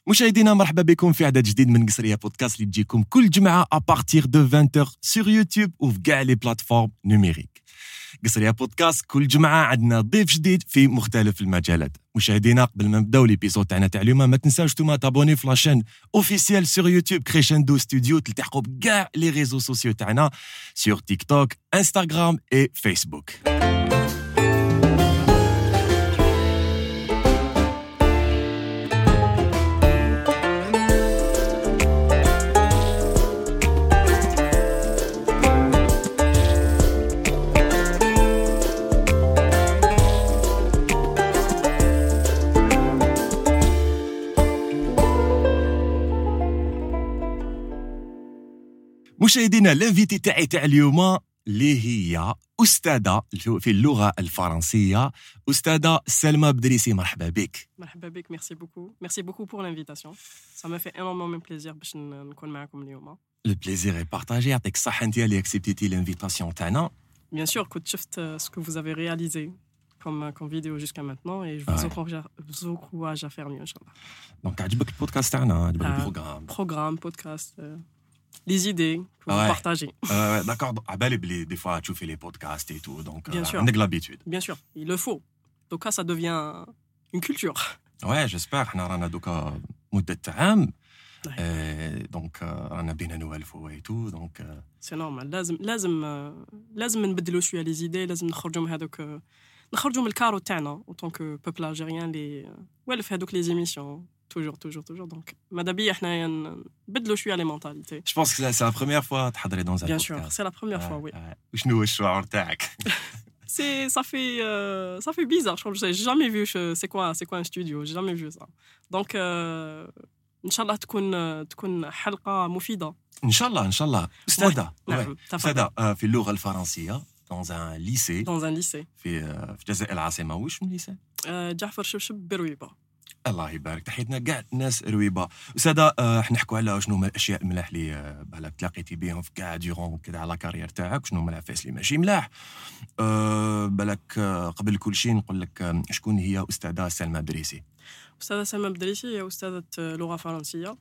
مشاهدينا مرحبا بكم في عدد جديد من قصرية بودكاست اللي تجيكم كل جمعة ابارتيغ دو 20h sur يوتيوب وفي كاع لي بلاتفورم نوميريك. قصرية بودكاست كل جمعة عندنا ضيف جديد في مختلف المجالات. مشاهدينا قبل ما نبداو ليبيزود تاعنا تاع اليوم ما تنساوش نتوما تابوني في لاشين اوفيسيال sur يوتيوب كريشندو ستوديو تلتحقوا بكاع لي ريزو سوسيو تاعنا sur تيك توك انستغرام et فيسبوك. مشاهدينا لانفيتي تاع اليوم اللي هي أستاذة في اللغة الفرنسية أستاذة سلمى بدريسي. مرحبا بك. مرحبا بك. Merci beaucoup pour l'invitation. Ça me fait énormément plaisir باش نكون معكم اليوم. Le plaisir est partagé. يعطيك الصحة أنت اللي acceptيتي l'invitation تاعنا. Bien sûr, كنت شفت ce que vous avez réalisé comme vidéo jusqu'à maintenant et je vous encourage à faire mieux inchallah. Donc عجبك البودكاست تاعنا؟ عجبك البروغرام بودكاست les idées que vous partagez. D'accord. À بالي des fois tu fais les podcasts et tout, donc on a l'habitude. Bien sûr, il le faut. Donc ça devient une culture. Ouais, j'espère. حنا رانا دوكا مدة عام. Donc رانا بينا نوالفوا et tout, donc c'est normal. لازم نبدلوا شوية les idées. لازم نخرجوا من هذوك نخرجوا من الكارو تاعنا en tant que peuple algérien les والف هذوك les émissions. Toujours. Donc, Madabi, احنا نبدلوا شوية les mentalités. Je pense que c'est la première fois تحضري dans un podcast. Bien sûr, c'est la première fois, oui. وشنو هو الشعور تاعك؟ Ça fait bizarre. Je n'ai jamais vu c'est quoi un studio. J'ai jamais vu ça. Donc, Inch'Allah تكون حلقة مفيدة. إن شاء الله. أستاذة في اللغة الفرنسية dans un lycée. في جزائر العاصمة. وش من lycée؟ جعفر شبشب برويبة. الله يبارك. تحياتنا كاع الناس رويبه. أستاذة نحكوا على شنو هما الاشياء الملاح اللي بالك تلاقيتي بهم في كاع ديورون كذا على كارير تاعك، شنو هما العفايس اللي ماشي ملاح. بالك قبل كل شيء نقول لك شكون هي أستاذة سلمى بدريسي؟ أستاذة سلمى بدريسي هي أستاذة لغة فرنسية.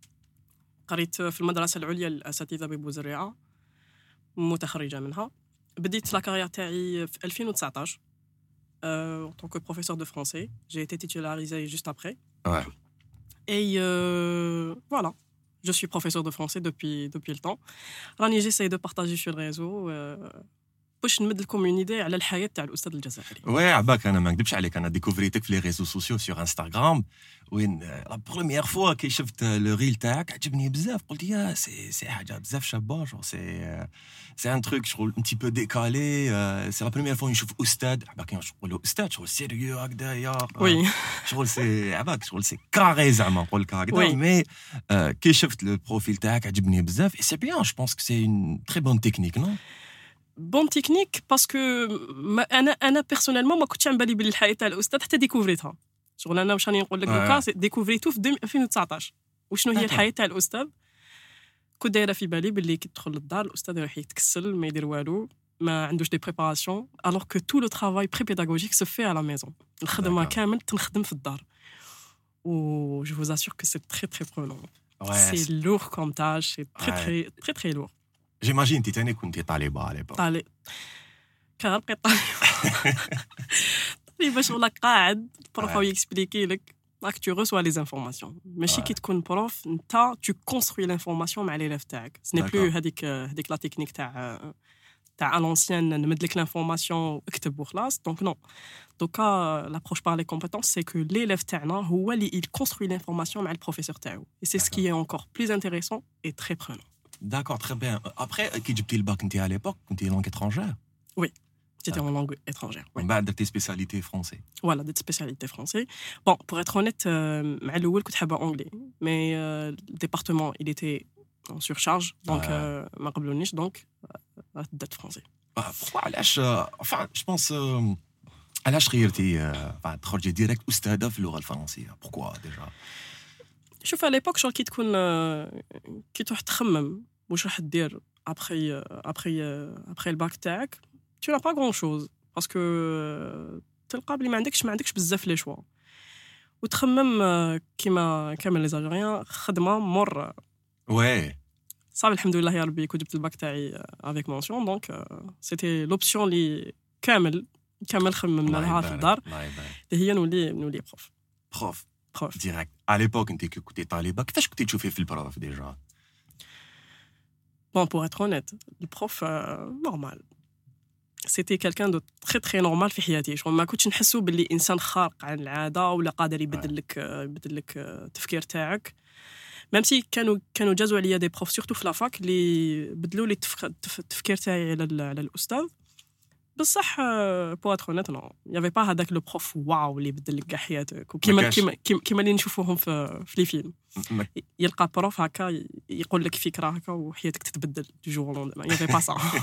قريت في المدرسة العليا للأساتذة ببوزريعة، متخرجة منها. بديت لا كارير تاعي في 2019 en tant que professeur de français. J'ai été titularisé juste après. Ouais. Et voilà, je suis professeur de français depuis le temps. راني j'essaie de partager sur le réseau باش نمد لكم une idée على الحياة تاع الأستاذ الجزائري. Ouais, عباك أنا ما نكذبش عليك، أنا ديكوفريتك في لي ريزو سوسيو sur انستغرام، وين لا بروميير فوا كي شفت لو ريل تاعك عجبني بزاف. قلت يا سي حاجة بزاف شابة، جو سي ان تروك شغل un petit peu décalé. سي لا بروميير فوا نشوف أستاذ عباك نقولوا أستاذ شغل سيريو هكذايا. وي شغل سي عباك شغل سي كاري زعما نقول لك هكذا. مي كي شفت لو بروفيل تاعك عجبني بزاف. et c'est bien, je pense que c'est une très bonne technique, non? بون تكنيك باسكو انا بيرسونيلمون ما كنتش عم بالي بالحياه تاع الاستاذ حتى ديكوفريتها. شغل انا واش راني نقول لك دوكا ديكوفريتو في 2019 وشنو هي الحياه تاع الاستاذ. كنت دايره في بالي باللي كي تدخل للدار الاستاذ يروح يتكسل ما يدير والو، ما عندوش دي بريباراسيون، alors que tout le travail pré-pédagogique se fait à la maison. الخدمه كامل تنخدم في الدار. و je vous assure que c'est très très prenant. C'est lourd comme tâche, c'est très lourd. J'imagine انت تاني كنتي طالبه على بالك. كنبقى طالبه شغل قاعد البروف يكسبليكي لك راك تو ريسوا لي انفورماسيون. ماشي كي تكون بروف انت تو كونستروي لانفورماسيون مع ليليف تاعك. سني بلو هذيك لا تكنيك تاع الانسيان نمد لك لانفورماسيون اكتب وخلاص. دونك نو دوكا لابروش بار لي كومبيتونس سي كو ليليف تاعنا هو اللي il construit l'information مع البروفيسور تاعو. et c'est ce qui est encore plus intéressant et très prenant. D'accord, très bien. Après, qui tu le bac, tu à l'époque, tu langue étrangère? Oui, j'étais en langue étrangère. Oui. Bah, de tes spécialités français. Voilà, des spécialités français. Bon, pour être honnête, مع الأول كنت حابة anglais, mais le département il était en surcharge, donc ما قبلونيش, donc بدأت français. Pourquoi علاش enfin, je pense علاش غيرتي تخرجي ديريكت أستاذة في اللغة الفرنسية؟ Pourquoi déjà? شوف على l'époque شغل كي تروح تخمم واش راح دير après الباك تاعك tu n'as pas grand chose parce que تلقى بلي ما عندكش بزاف لي شوا. وتخمم كيما كامل لي زالجيريان خدمه مر Ouais. صافي الحمد لله يا ربي كنت جبت الباك تاعي افيك مونسيون دونك سيتي لوبسيون لي كامل خممنا لها في الدار اللي هي نولي بروف Prof. Direct. À l'époque, quand tu étais talibé, qu'est-ce que tu fais le prof déjà? Bon, pour être honnête, le prof, normal. C'était quelqu'un de très très normal في حياتي. شغل ما كنتش نحسو باللي إنسان خارق عن العادة ولا قادر يبدل لك التفكير تاعك. même si كانوا جازوا عليا des profs surtout في لافاك اللي بدلوا لي التفكير تاعي على الأستاذ. بصح pour être honnête non il y avait pas هذاك لو بروف واو اللي بدل لك كاع حياتك وكيما اللي نشوفوهم في لي فيلم يلقى بروف هكا يقول لك فكره هكا وحياتك تتبدل دو جور لون il y avait pas ça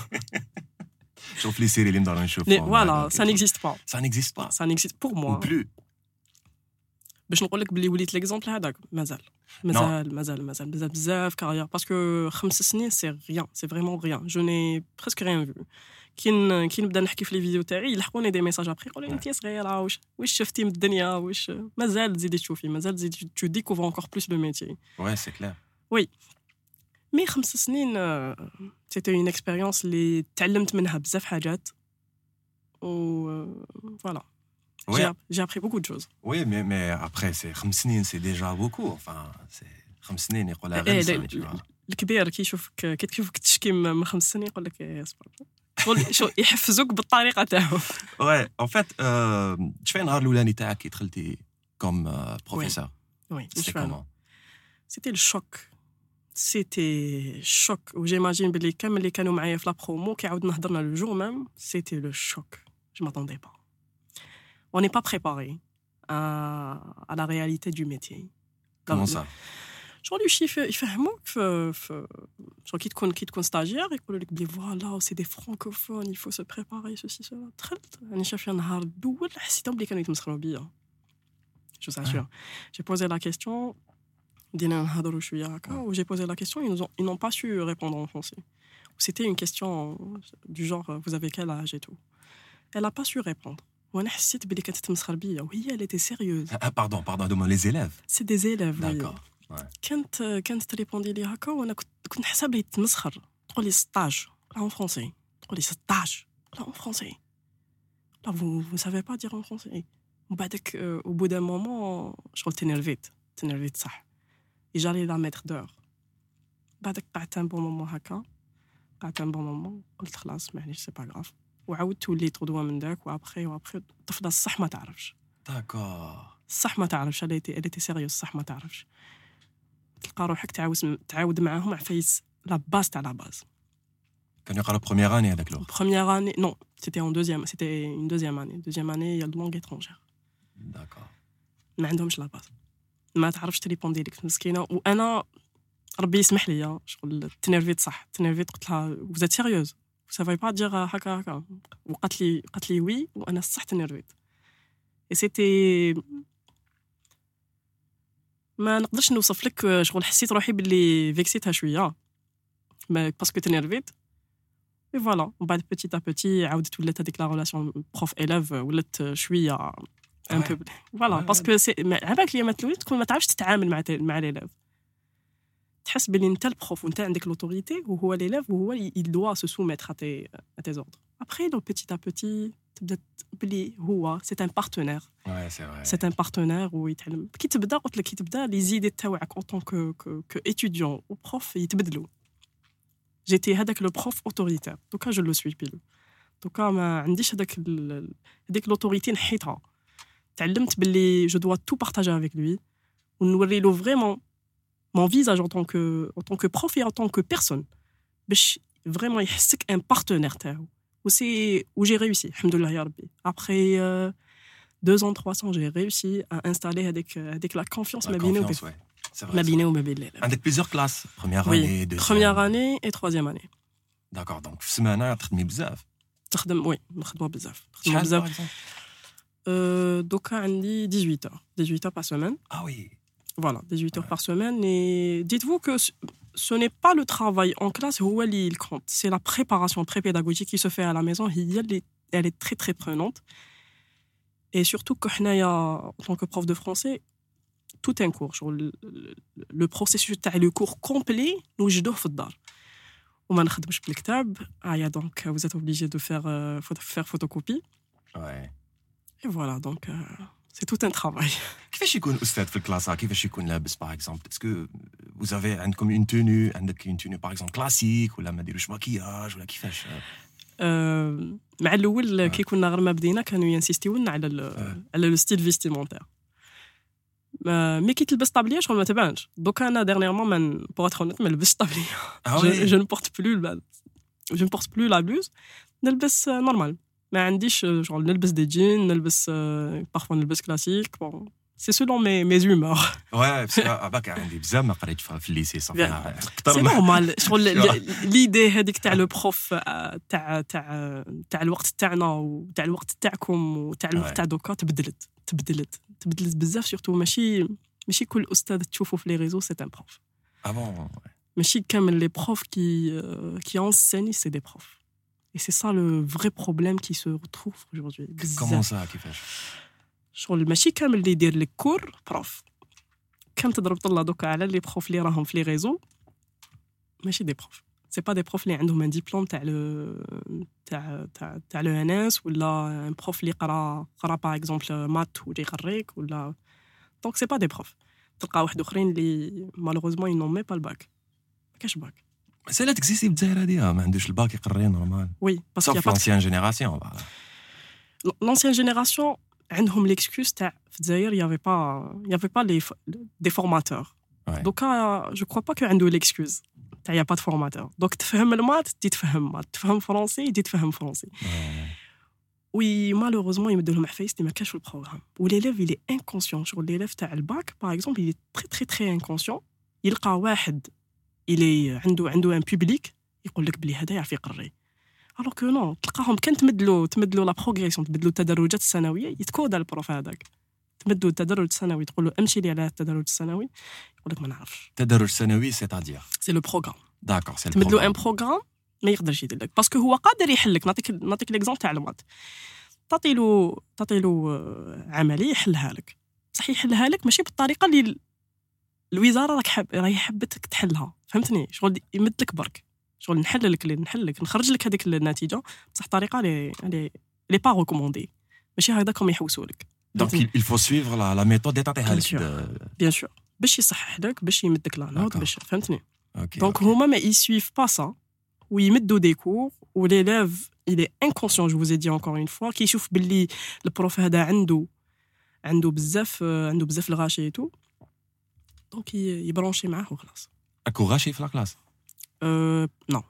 شوف لي سيري اللي ندارو نشوفهم voilà ça n'existe pas ça n'existe pour moi plus باش نقول لك بلي وليت ليكزامبل هذاك مازال بزاف كارير باسكو 5 سنين سي ريان سي فريمون ريان جو ني بريسك ريان فيو كي نبدا نحكي في لي فيديو تاعي يلحقوني دي ميساج ابري يقولوا لي انت صغيره واش شفتي من الدنيا واش مازال تزيدي تشوفي مازال تزيدي تو ديكوفر انكور بلوس لو ميتي وي سي كلير وي مي 5 سنين سيتي اون اكسبيريونس اللي تعلمت منها بزاف حاجات و فوالا j'ai appris beaucoup de choses. Oui, mais après, c'est 5 سنين, c'est déjà beaucoup. Enfin, c'est 5 سنين, يقول لها غير سنة, tu vois. الكبير كي تشوفك تشكي من 5 سنين يقول لك اصبر. شو يحفزوك بالطريقة تاعهم. Ouais, en fait, شفاي النهار الأولاني تاعك كي دخلتي comme professeur. Oui, c'était comment? C'était le choc. C'était choc. J'imagine بلي كامل اللي كانوا معايا في لا برومو كي عاودنا هضرنا le jour même, c'était le choc. Je m'attendais pas. On n'est pas préparé à la réalité du métier. Comment ça? Genre le chiffre يفهموك genre كي تكون stagiaire يقولوا لك بلي voilà c'est des francophones il faut se préparer ceci cela دخلت انا شاف النهار الاول حسيتهم بلي كانوا يتمسخروا بيا je vous assure j'ai posé la question بدينا نهضروا شويه هكا j'ai posé la question ils n'ont pas su répondre en français c'était une question du genre vous avez quel âge et tout elle a pas su répondre وانا حسيت بلي كانت تتمسخر بيا وهي elle était sérieuse pardon les élèves c'est des élèves d'accord كانت تريبوندي لي هكا وانا كنت نحسب لي تمسخر تقول لي 16 لا en français تقول لي 16 لا en français لا vous savez pas dire en français وبعدك au bout d'un moment شغل تنرفيت صح et j'allais la mettre dehors بعدك قعدت un bon moment هكا قلت خلاص معليش سي با غراف وعاودت وليت غدوه من داك وابخي الطفله الصح ما تعرفش داكور الصح ما تعرفش elle était sérieuse الصح ما تعرفش تلقى روحك تعاود معاهم عفايس لا باز تاع لا باز كانوا يقراو première année هذاك لو première année non c'était une deuxième année il y a de langue étrangère d'accord ما عندهمش لا باز ما تعرفش تريبوندي لك مسكينه وانا ربي يسمح لي شغل تنرفيت قلت لها vous êtes sérieuse vous savez pas dire هكا وقالت لي وي وانا صح تنرفيت et c'était ما نقدرش نوصف لك شغل حسيت روحي باللي فيكسيتها شويه باسكو تنرفيت et voilà ومن بعد petit à petit عاودت ولات هذيك لا ريلاسيون بروف élève ولات شويه un peu voilà parce que c'est عباك لي ما تلوي تكون ما تعرفش تتعامل مع ليليف تحس بلي انت البروف وانت عندك لوتوريتي وهو ليليف وهو il doit se soumettre à tes ordres après donc petit à petit تبدا بلي هو c'est un partenaire ouais c'est vrai c'est un partenaire ويتعلم كي تبدا لي زيدي تاعك en tant que étudiant ou prof يتبدلوا j'étais هذاك le prof autoritaire donc je le suis pile donc ما عنديش هذيك l'autorité نحيتها تعلمت باللي je dois tout partager avec lui ونوري له vraiment mon visage en tant que prof et en tant que personne باش vraiment يحسك un partenaire تاعو où j'ai réussi alhamdoulilah ya rabbi après 2 ans 3 ans j'ai réussi à installer avec la confiance ma bine ou ma belle avec plusieurs classes première année et troisième année d'accord donc في سمانه تخدمي بزاف نخدموا بزاف دوكا عندي 18 heures par semaine ah oui voilà 18 heures par semaine et dites-vous que ce n'est pas le travail en classe هو اللي compte c'est la préparation prépédagogique qui se fait à la maison elle est très très prenante Et surtout que en tant que prof de français, tout un cours. Genre le processus le cours complet, nous نوجدوه في الدار. وما نخدمش بالكتاب. Donc vous êtes obligé de faire photocopie. Ouais. Et voilà, donc c'est tout un travail. كيفاش يكون أستاذ في الكلاس؟ كيفاش يكون لابس par exemple? Est-ce que vous avez عندكم une tenue, عندك une tenue par exemple classique ولا ما ديروش ماكياج ولا كيفاش؟ مع الاول كي كنا غير ما بدينا كانوا ينسيستيونا على لو ستيل فيستيمونتير مي كي تلبس طابليه شغل ما تبانش دوكا انا ديرنييرمون من بوغ اتر اونيت ما لبستش طابليه جو ne porte plus la blouse نلبس نورمال ما عنديش شغل نلبس دي جين نلبس بارفوا نلبس كلاسيك بون سي سولون مي زومور واه باسكو باك عندي بزاف ما قريتش في الليسي صافي اكثر سي نورمال شغل ليدي هذيك تاع لو بروف تاع الوقت تاعنا وتاع الوقت تاعكم وتاع الوقت تاع دوكا تبدلت بزاف سورتو ماشي كل استاذ تشوفه في لي ريزو سي ان بروف ماشي كامل لي بروف qui enseignent c'est des profs et c'est ça le vrai problème qui se retrouve aujourd'hui comment ça كيفاش شغل ماشي كامل اللي يدير لك كور بروف كم تضرب طلع دوكا على لي بروف اللي راهم في لي ريزو ماشي دي بروف سي با دي بروف اللي عندهم ان ديبلوم تاع لو ان اس ولا ان بروف اللي قرا باغ اكزومبل مات ولا يقريك ولا دونك سي با دي بروف تلقى واحد اخرين اللي مالوغوزمون ينون مي با الباك ما كاش باك مساله تكزيستي بالجزائر هذه ما عندوش الباك يقري نورمال وي باسكو لانسيان جينيراسيون لانسيان جينيراسيون عندهم ليكسكوز تاع في الجزائر يافي با لي دي فورماتور دوكا جو كرو با كو عنده ليكسكوز تاع يا با دو فورماتور دوك تفهم المات تي تفهم مات تفهم فرونسي تي تفهم فرونسي وي مالوغوزمون يمدوا لهم عفايس ما كاش في البروغرام وليليف يلي انكونسيون شغل ليليف تاع الباك باغ اكزومبل يلي تري تري انكونسيون يلقى واحد يلي عنده ان بوبليك يقول لك بلي هذا يعرف يقري alors que non تلقاهم كان تمدلو لا بروغريسيون تمدلو التدرجات السنويه يتكود على البروف هذاك تمدو التدرج السنوي تقول له امشي لي على التدرج السنوي يقول لك ما نعرفش التدرج السنوي سيتادير سي لو بروغرام داكور سي تمدلو ان بروغرام ما يقدرش يدير لك باسكو هو قادر يحل لك نعطيك ليكزامبل تاع المات تعطيلو عمليه يحلها لك صح يحلها لك ماشي بالطريقه اللي الوزاره راهي حبتك تحلها فهمتني شغل يمد لك برك شغل نحل لك نخرج لك هذيك النتيجه بصح طريقه لي با ريكوموندي ماشي هكذاكم يحوسوا لك دونك il faut suivre la méthode اللي تعطيها لك بيان سور باش يصحح لك باش يمد لك لا نوت باش فهمتني دونك هما ما يسويف با سا ويمدوا دي كور وليليف il est inconscient je vous ai dit encore une fois كيشوف باللي البروف هذا عنده بزاف الغاشي تو دونك يبرونشي معاه وخلاص اكو غاشي في لا كلاس non.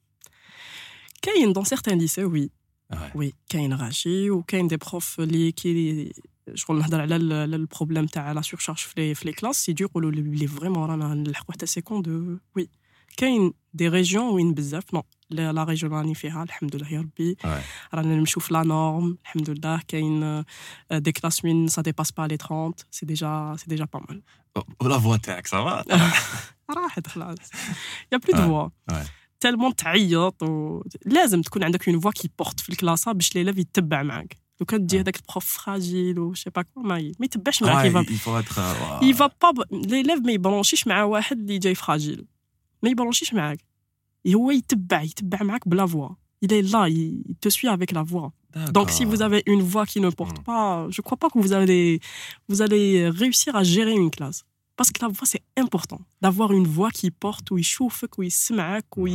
كاين dans certains lycées oui كاين غاشي وكاين des profs اللي شغل نهضر على البروبليم تاع لا سورشارج في لي كلاس سي دو يقولوا لي فريمون رانا نلحقوا حتى سيكوند وي كاين دي ريجيون وين بزاف نو لا ريجيون راني فيها الحمد لله يا ربي رانا نمشيو في لا نورم الحمد لله كاين دي كلاس وين سا ديباس با لي 30 سي ديجا با مال ولا فوا تاعك صافا راحت خلاص يا بلو دو فوا تالمون تعيط لازم تكون عندك اون فوا كي بورت في الكلاسه باش ليليف يتبع معاك لو كان تجي هذاك البروف فراجيل و شي با كو ما يتبعش معاك يفا با ليليف ما يبرونشيش مع واحد اللي جاي فراجيل ما يبرونشيش معاك هو يتبع معاك بلا فوا il est là il te suit avec la voix donc si vous avez une voix qui ne porte pas je crois pas que vous allez réussir à gérer une classe parce que la voix c'est important d'avoir une voix qui porte où il chauffe où il سمعك où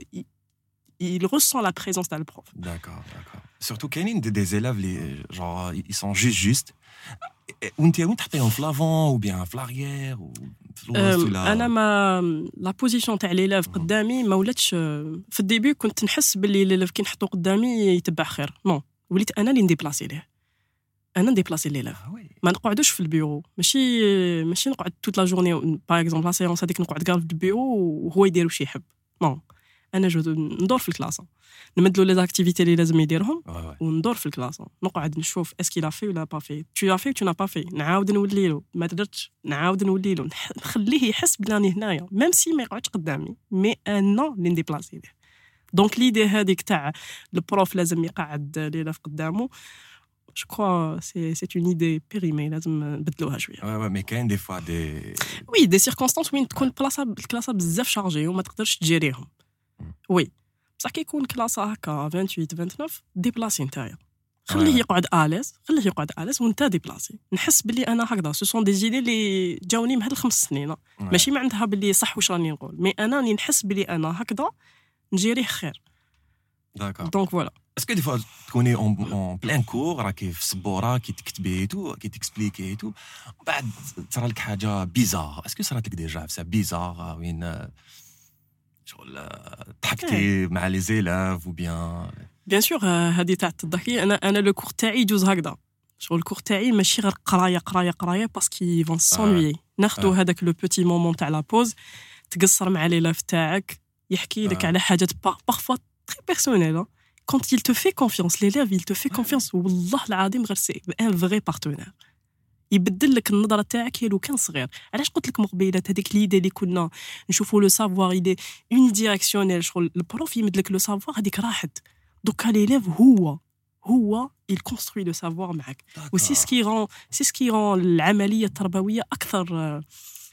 il ressent la présence d'un prof d'accord surtout كاينين des élèves les genre ils sont juste وانت تحطيهم في لافون ou bien في l'arrière ou انا ما لا بوزيشن تاع ليليف قدامي ما ولاتش في الديبي كنت نحس باللي ليليف كي نحطو قدامي يتبع خير نو وليت انا اللي نديبلاسي ليه انا نديبلاسي ليليف ما نقعدوش في البيرو ماشي نقعد توت لا جورني باغ اكزومبل لا سيونس هذيك نقعد كاع في البيرو وهو يدير واش يحب نو انا ندور في الكلاسه نمدلو لي زاكتيفيتي اللي لازم يديرهم وندور في الكلاسه نقعد نشوف اسكي لا في ولا با في تو في تو نا با في نعاود نولي له ما درتش نعاود نولي له نخليه يحس بلاني هنايا ميم سي ما يقعدش قدامي مي انا اللي نديبلاسي ليه دونك ليدي هذيك تاع البروف لازم يقعد ليلة في قدامه Je crois c'est une idée périmée لازم نبدلوها شويه. Ouais, mais كاين des fois des Oui, des circonstances وين تكون الكلاسه بزاف شارجي وما تقدرش تجيريهم. وي بصح كي يكون كلاسه هكا 28 29 ديبلاسي نتايا خليه يقعد اليس وانت ديبلاسي. نحس باللي انا هكذا سو سون دي زيدي اللي جاوني من هاد ال5 سنين ماشي ما عندها باللي صح واش راني نقول مي انا راني نحس باللي انا هكذا نجيريه خير. دونك فوالا. اسكو دي فوا تكوني اون بلان كور راكي في السبوره كي تكتبي تو كي تكسبليكي تو بعد تصرى لك حاجه بيزار اسكو صرات لك ديجا في بيزار وين شغل ضحكتي مع لي زيلاف او بيان سور هذه تاع الضحكه انا لو كور تاعي يجوز هكذا شغل الكور تاعي ماشي غير قرايه باسكو فون سونوي ناخذوا هذاك لو بوتي مومون تاع لا بوز تقصر مع ليلاف تاعك يحكي لك على حاجات بارفوا تري بيرسونيل. Quand il te fait confiance, l'élève, il te fait confiance. والله العظيم غير سي ان فغي بارتنير. يبدل لك النظره تاعك لو كان صغير. علاش قلت لك مقبيلات هذيك ليدي اللي كنا نشوفوا لو سافوار ايدي اون ديريكسيونيل شغل البروف يمد لك لو سافوار هذيك راحت. دوكا ليليف هو il construit le savoir معك. وسي سكي رون العمليه التربويه اكثر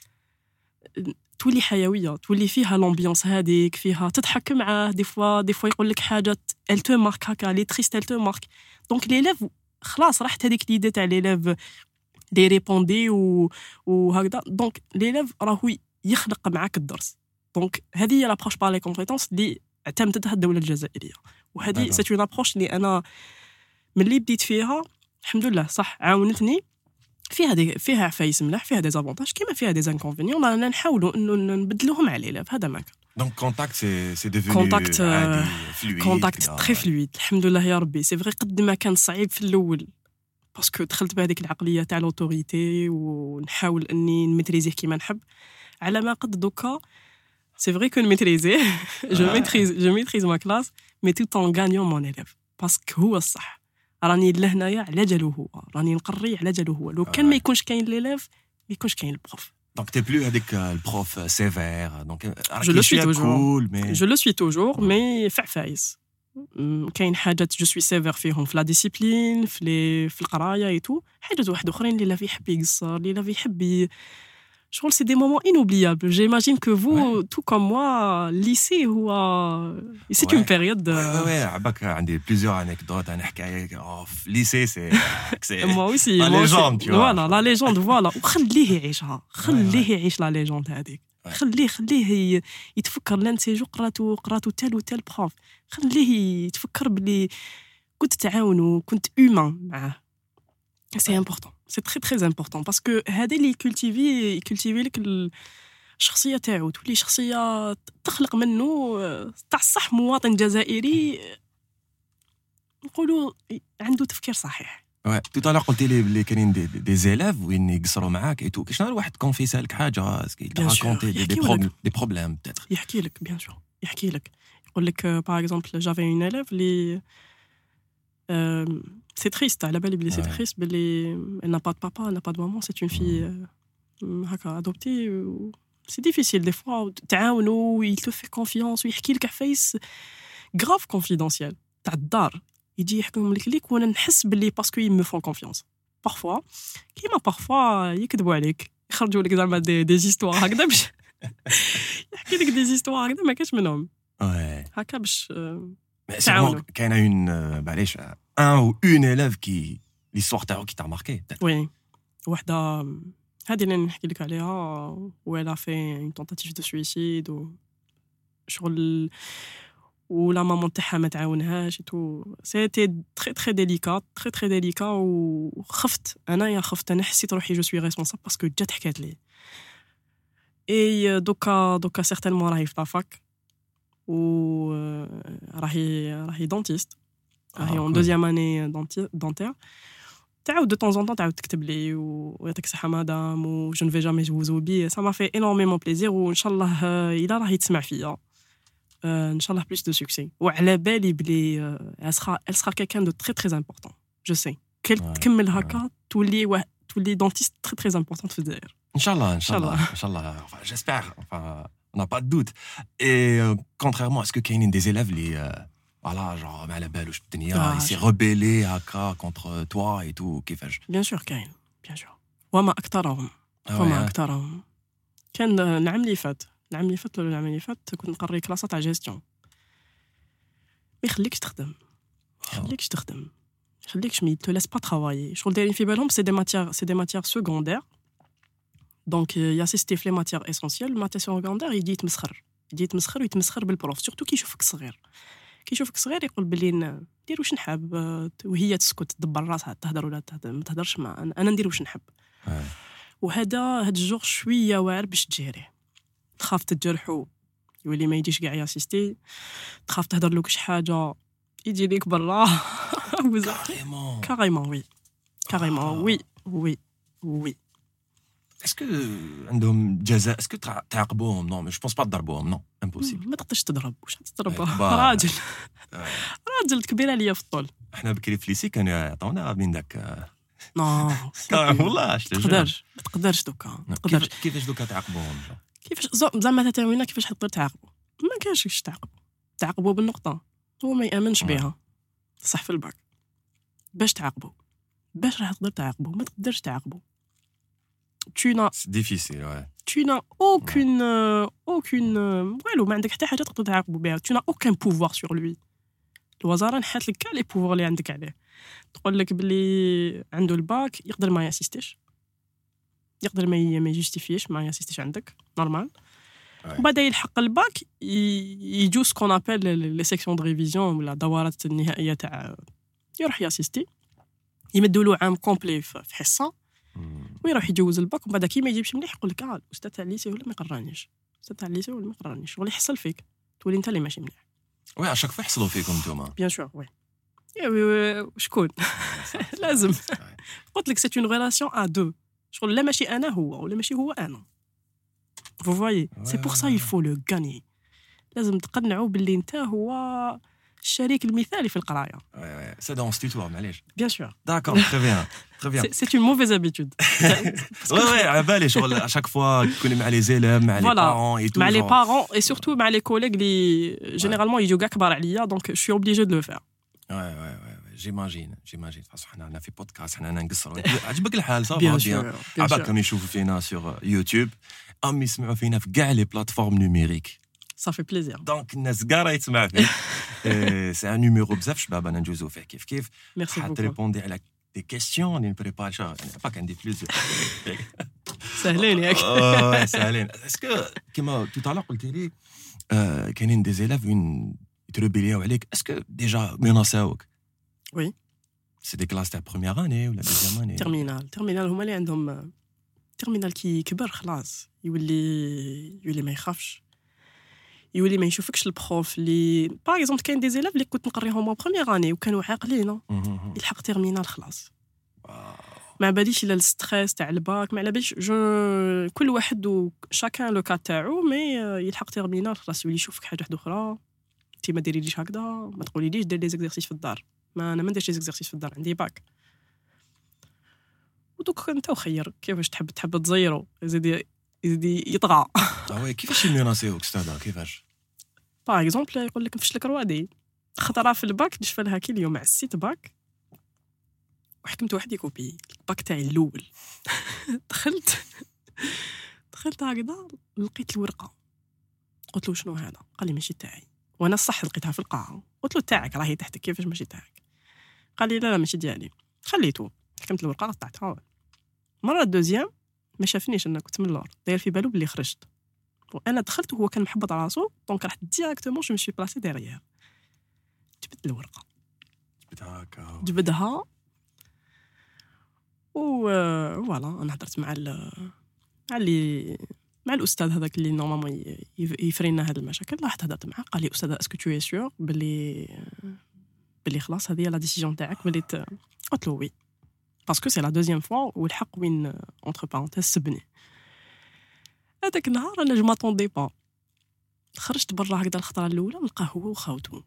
تولي حيويه تولي فيها لامبيونس هذيك فيها تضحك معاه دي فوا يقول لك حاجه elle te marque هكا لي تريست elle te marque. دونك ليليف خلاص راحت هذيك ليدي تاع ليليف لي ريبوندي وهكذا. دونك ليليف راهو يخلق معاك الدرس. دونك هذه هي لابروش بار لي كومبيتونس اللي اعتمدتها الدوله الجزائريه وهذه سي اون ابروش اللي انا ملي بديت فيها الحمد لله صح عاونتني. فيها عفايس ملاح فيها دي زافونتاج كيما فيها دي انكونفينيون. رانا نحاولوا انه نبدلوهم على ليليف هذا ما كان. دونك كونتاكت سي ديفوني عادي فلويد كونتاكت تري فلويد الحمد لله يا ربي. سي فري قد ما كان صعيب في الاول باسكو دخلت بهذيك العقليه تاع لوتوريتي ونحاول اني نميتريزيه كيما نحب على ما قد دوكا. سي فري كو نميتريزي جو ميتريز ما كلاس مي توت ان غانيون مون élève باسكو هو الصح. راني لهنايا على جالو هو راني نقري على جالو هو. لو كان ما يكونش كاين ليليف ما يكونش كاين البروف. Donc t'es plus avec le prof sévère donc je le suis toujours cool, mais je le suis toujours mais فعفايس كاين حاجات جو سوي سيفير فيهم في لا ديسيبلين في القرايه اي تو حاجات واحد اخرين اللي لا يحب يقصر اللي لا يحب شغل سي دي مومون انوبليابل. جيماجين كو فو تو كوم موا ليسي هو سي اون بيريود عباك عندي بليزيور انيكدوت انا حكايه في ليسي سي موا اوسي لا ليجوند فوالا لا ليجوند فوالا وخليه يعيشها خليه يعيش لا ليجوند هذيك خليه يتفكر لان سيجو قراتو تال وتال بروف خليه يتفكر بلي كنت تعاون كنت اومان معاه. سي امبورطون سي تري تري امبورطون باسكو هذا اللي يكولتيفي لك الشخصيه تاعو تولي شخصيه تخلق منه تاع الصح مواطن جزائري نقولوا عنده تفكير صحيح. تو طالع قلتي لي بلي كاينين دي زيلاف وين يقصروا معاك اي تو شنو واحد كونفيسا لك حاجه اسكي راكونتي دي بروبليم بتاتر يحكي لك بيان سور يحكي لك يقول لك باغ اكزومبل جافي اون اليف لي c'est triste على بالي بلي c'est triste بلي elle n'a pas de papa elle n'a pas de maman c'est une fille هكا adoptée c'est difficile des fois تعاونوا il te fait confiance ويحكي لك عفايس grave confidentiel تاع الدار يجي يحكيهم لك وانا نحس باللي باسكو يم فون كونفيونس بارفوا كيما بارفوا يكذبوا عليك يخرجوا لك زعما دي زيستوار هكذا باش يحكي لك دي زيستوار هكذا ما كاش منهم هكا باش تعاونوا. كاينه اون معليش ان ou une élève qui l'histoire qui t'a marqué وي وحده هذه اللي نحكي لك عليها ولا في اون تونتاتيف دو سويسيد شغل ولا مامون تاعها ما تعاونهاش تو سيتي تري تري ديليكا وخفت انا حسيت روحي جو سوي ريسبونسابل باسكو جات حكات لي اي دوكا سيغتينمون راهي في لافاك و راهي دونتيست راهي اون دوزيام اني دونتير تعاود دو طون زون طون تعاود تكتب لي ويعطيك الصحه مدام و جو نفي جامي vous oublier ça m'a fait énormément plaisir وان شاء الله الا راهي تسمع فيا ان شاء الله بليس دو سوكسي وعلى بالي بلي elle sera quelqu'un de très très important je sais تكمل هكا تولي دونتيست très très importante في الجزائر ان شاء الله j'espère on n'a pas de doute et contrairement à ce que كاينين des élèves فوالا جو ما على بالوش الدنيا يسي ريبيلي هكا كونتر توا اي تو كيفاش بيان سور كاين بيان سور وما اكثرهم كان العام اللي فات كنت نقري كلاسات تاع جيستيون ما يخليكش تخدم يخليكش مي تو لاس با ترافايي شغل دايرين في بالهم سي دي ماتيير سكوندير دونك ياسيستي في لي ماتيير اسونسيال ماتيير سكوندير يجي يتمسخر بالبروف سورتو كي يشوفك صغير يقول بلي ندير واش نحب وهي تسكت تدبر راسها تهضر ولا ما تهضرش مع انا ندير واش نحب هاد الجوغ شويه واعر باش تجيريه تخاف تجرحو يولي ما يجيش كاع ياسيستي تخاف تهضر له شي حاجه يجي ليك برا كاريمون وي اسكو عندهم جزاء اسكو تعاقبوهم نو جو بونس با تضربوهم نو امبوسيبل ما تقدرش تضرب واش تضرب راجل كبير عليا في الطول احنا بكري في ليسي كانوا يعطونا من داك نو والله ما تقدرش دوكا كيفاش دوكا تعاقبوهم كيفاش زعما تاوينا كيفاش تقدر تعاقبوا ما كاينش تعاقبوا بالنقطه هو ما يامنش بها صح في الباك باش تعاقبوا باش راح تقدر تعاقبوا ما تقدرش تعاقبوا tu n'as c'est difficile ouais tu n'as aucune والو ما عندك حتى حاجه تقدر تعاقبوا بها tu n'as aucun pouvoir sur lui الوزاره نحات لك كاع لي بوفوار اللي عندك عليه تقول لك بلي عنده الباك يقدر ما ياسيستيش يقدر ما يجوستيفيش ما ياسيستيش عندك نورمال وبعد يلحق الباك يجو سكون ابل لي سيكسيون دو ريفيزيون ولا دورات النهائيه تاع يروح ياسيستي يمدوا له عام كومبلي في حصه ويروح يجوز الباك وبعد كي ما يجيبش مليح يقول لك الاستاذ تاع الليسي ولا ما يقرانيش ولا يحصل فيك تولي انت اللي ماشي مليح وي اشاك فوا يحصلوا فيكم نتوما بيان سور وي شكون لازم قلت لك سي اون ريلاسيون ا دو شغل لا ماشي انا هو ولا ماشي هو انا vous voyez c'est pour ça il faut le gagner لازم تقنعوا باللي انت هو الشريك المثالي في القرايه سي دون ستيتوار معليش بيان سور داكور تري بيان سي اون موفيز هابيتود وي على بالي شغل اشاك فوا تكوني مع لي زيليف مع لي بارون اي تو مع لي بارون اي سورتو مع لي كوليغ اللي جينيرالمون يجوا كاع كبار عليا دونك جو سوي اوبليجي دو لو فير وي جيماجين خاصو حنا في بودكاست حنا نقصروا عجبك الحال صافي بيان عباكم يشوفوا فينا سور يوتيوب ام يسمعوا فينا في كاع لي بلاتفورم نوميريك صافي بليزير دونك الناس كاع يتسمع فيه سي ان نيميرو بزاف شباب انا ندوزو فيه كيف حتى ريبوندي على دي كيسيون اللي نبريباري يعني باك عندي بليزير سهلين ياك سهلين اسكو كيما توتالا قلتي لي كاينين دي زيلاف وين يتربيليو عليك اسكو ديجا مناساوك وي سي دي كلاس تاع بروميير اني ولا دوزيام اني تيرمينال هما اللي عندهم تيرمينال كي كبر خلاص يولي ما يخافش يولي ما يشوفكش البروف اللي باغ اكزومبل كاين دي زيلاف اللي كنت نقريهم بروميير اني وكانوا عاقلين يلحق تيرمينال خلاص ما باليش الا الستريس تاع الباك ما على باليش كل واحد و شاكان لو كا تاعو مي يلحق تيرمينال خلاص يولي يشوفك حاجه واحده اخرى انت ما ديريليش هكذا ما تقوليليش دير لي زيكزارسيس في الدار ما انا ما نديرش لي زيكزارسيس في الدار عندي باك ودوك انت وخير كيفاش تحب تزيرو يزيد يطغى وي كيفاش يميناسيوك استاذ كيفاش باغ اكزومبل يقول لك نفشلك روادي خطره في الباك نشفى لها كي اليوم عسيت باك وحكمت واحد يكوبي الباك تاعي الاول دخلت هكذا لقيت الورقه قلت له شنو هذا قال لي ماشي تاعي وانا صح لقيتها في القاعه قلت له تاعك راهي تحتك كيفاش ماشي تاعك قال لي لا ماشي ديالي خليته حكمت الورقه قطعتها مره دوزيام ما شافنيش انا كنت من اللور داير في بالو بلي خرجت وانا دخلت وهو كان محبط على راسو دونك رحت ديريكتومون جو مشي بلاسي ديريير جبت الورقه جبدها فوالا انا هضرت مع الاستاذ هذاك اللي نورمالمون يفرينا هذه المشاكل رحت هضرت معاه قال لي استاذ اسكو تو سيور بلي خلاص هذه هي لا ديسيجن تاعك بلي قلت له وي باسكو سي لا دوزيام فوا والحق وين اونتر بارونتيز سبني هذاك النهار انا جو ماتوندي با خرجت برا هكذا الخطره الاولى نلقاه هو وخاوتو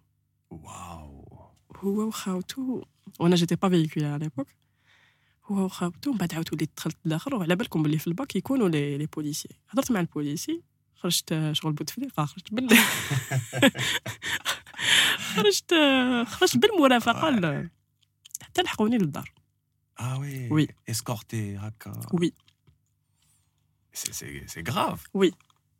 وانا جيتي با فيكول على ليبوك هو وخاوتو من بعد عاود وليت دخلت للاخر وعلى بالكم بلي في الباك يكونوا لي بوليسي هضرت مع البوليسي خرجت شغل بوتفليقه خرجت بالله خرجت بالمرافقه حتى لحقوني للدار. وي اسكورتي هكا. وي سي غراف. وي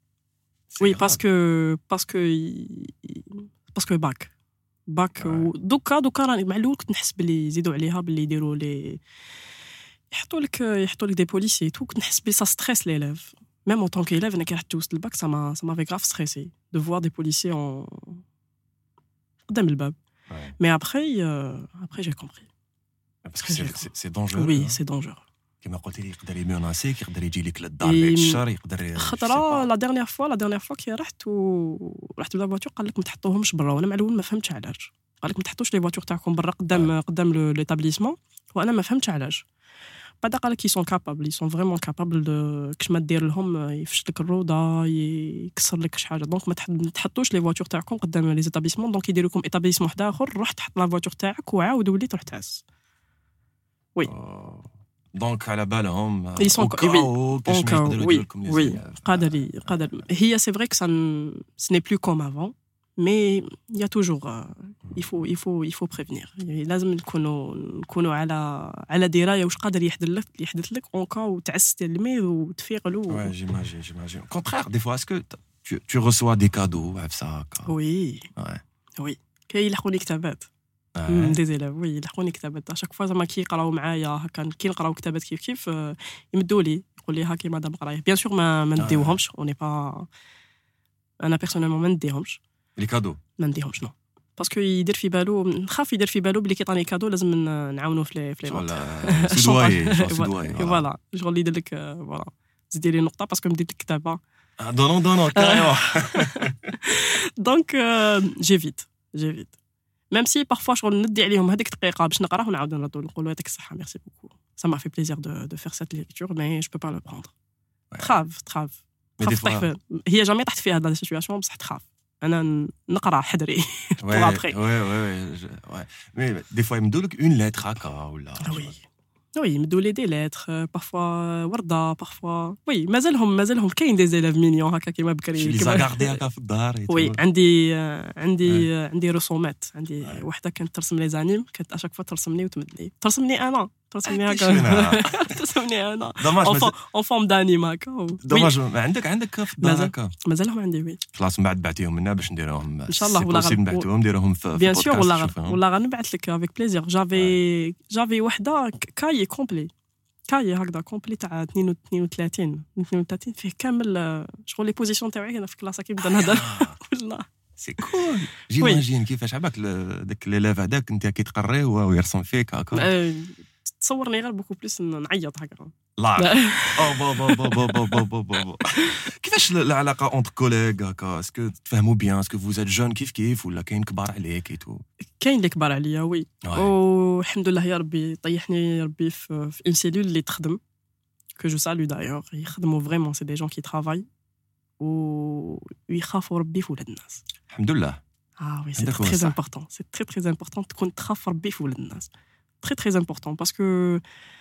باسكو باك دوكا راني مع الاول كنت نحس باللي يزيدوا عليها باللي يديروا لي يحطوا لك دي بوليسي تو كنت نحس بلي سا ستريس ليليف ميم اون طون كيليف انا كي رحت جوزت الباك ça m'a grave stressé de voir des policiers en قدام الباب. mais après j'ai compris parce que c'est dangereux. oui c'est dangereux. كما قلتي لي يقدر يموناسيك يقدر يجي لك للدار بعد الشهر يقدر خطره لا ديرنيير فوا كي رحت بلا فواتور قال لك ما تحطوهمش برا وانا مع الاول ما فهمتش علاش قال لك ما تحطوش لي فواتور تاعكم برا قدام ليتابليسمون وانا ما فهمتش علاش. بعد قال لك يسون فريمون كابابل كش ما دير لهم يفش لك الروضه يكسر لك شي حاجه دونك ما تحطوش لي فواتور تاعكم قدام لي زيتابليسمون دونك يديروا لكم ايتابليسمون واحد اخر روح تحط لا فواتور تاعك وعاود ولي تروح تعس. وي دونك على بالهم ils sont oui قادر هي c'est vrai que ce n'est plus comme avant mais il y a toujours il faut prévenir لازم نكونوا على درايه واش قادر يحدث لك اون كا وتعس تلميذ وتفيق له. ouais j'imagine contraire des fois est-ce que tu reçois des cadeaux ça oui كاين يلحقوني كتابات دي زيلاف وي يلحقوني كتابات شاك فوا زعما كيقراو معايا هكا كي نقراو كتابات كيف يمدوا لي يقول لي هاكي مدام قرايه بيان سور ما نديوهمش اوني با انا بيرسونيلمون ما نديهمش لي كادو ما نديهمش نو باسكو يدير في بالو نخاف يدير في بالو بلي كيعطيني كادو لازم نعاونو في لي سدواي فوالا شغل يدير لك فوالا زيدي لي نقطه باسكو مديت لك كتابه دونو كاريمون دونك جيفيت même si parfois je ندي عليهم هذيك دقيقه باش نقراه ونعاود نردو نقولوا يعطيك الصحه merci beaucoup ça m'a fait plaisir de faire cette lecture mais je peux pas le prendre. تخاف هي جامي طحت فيها هذه السيتوياسيون بصح تخاف انا نقرا حدري pour après. ouais mais des fois يمدوا لك une lettre هكا ولا oui يمدوا لي دي ليتر parfois ورده parfois oui مازالهم كاين دي زيلاف مينيون هكا كيما بكري كيما غاردي هكا في الدار. وي عندي رسومات عندي وحده كانت ترسم لي زانيم كانت اشاك فوا ترسمني وتمدني ترسمني هكا ترسمني انا اون فورم دانيم هكا دوماج عندك في الدار هكا مازالهم عندي وي خلاص من بعد بعتيهم لنا باش نديروهم ان شاء الله ولا نبعثوهم نديروهم في بيان سور ولا غنبعث لك افيك بليزير جافي وحده كاي كومبلي كاي هكذا كومبلي تاع 32 فيه كامل شغل لي بوزيسيون تاعي هنا في كلاس كي نبدا نهضر والله سي كول جيماجين كيفاش عباك داك ليليف هذاك انت كي تقريه ويرسم فيك هكا تصورني غير بوكو بليس نعيط هكا لا بابا كيفاش العلاقه اونتر كوليغ هكا اسكو تفهموا بيان اسكو فوز ات جون كيف ولا كاين كبار عليك ايتو كاين اللي كبار عليا وي والحمد لله يا ربي طيحني ربي في اون سيلول اللي تخدم que je salue d'ailleurs يخدموا vraiment c'est des gens qui travaillent ويخافوا ربي في ولاد الناس الحمد لله. oui c'est très important تكون تخاف ربي في ولاد الناس très important parce que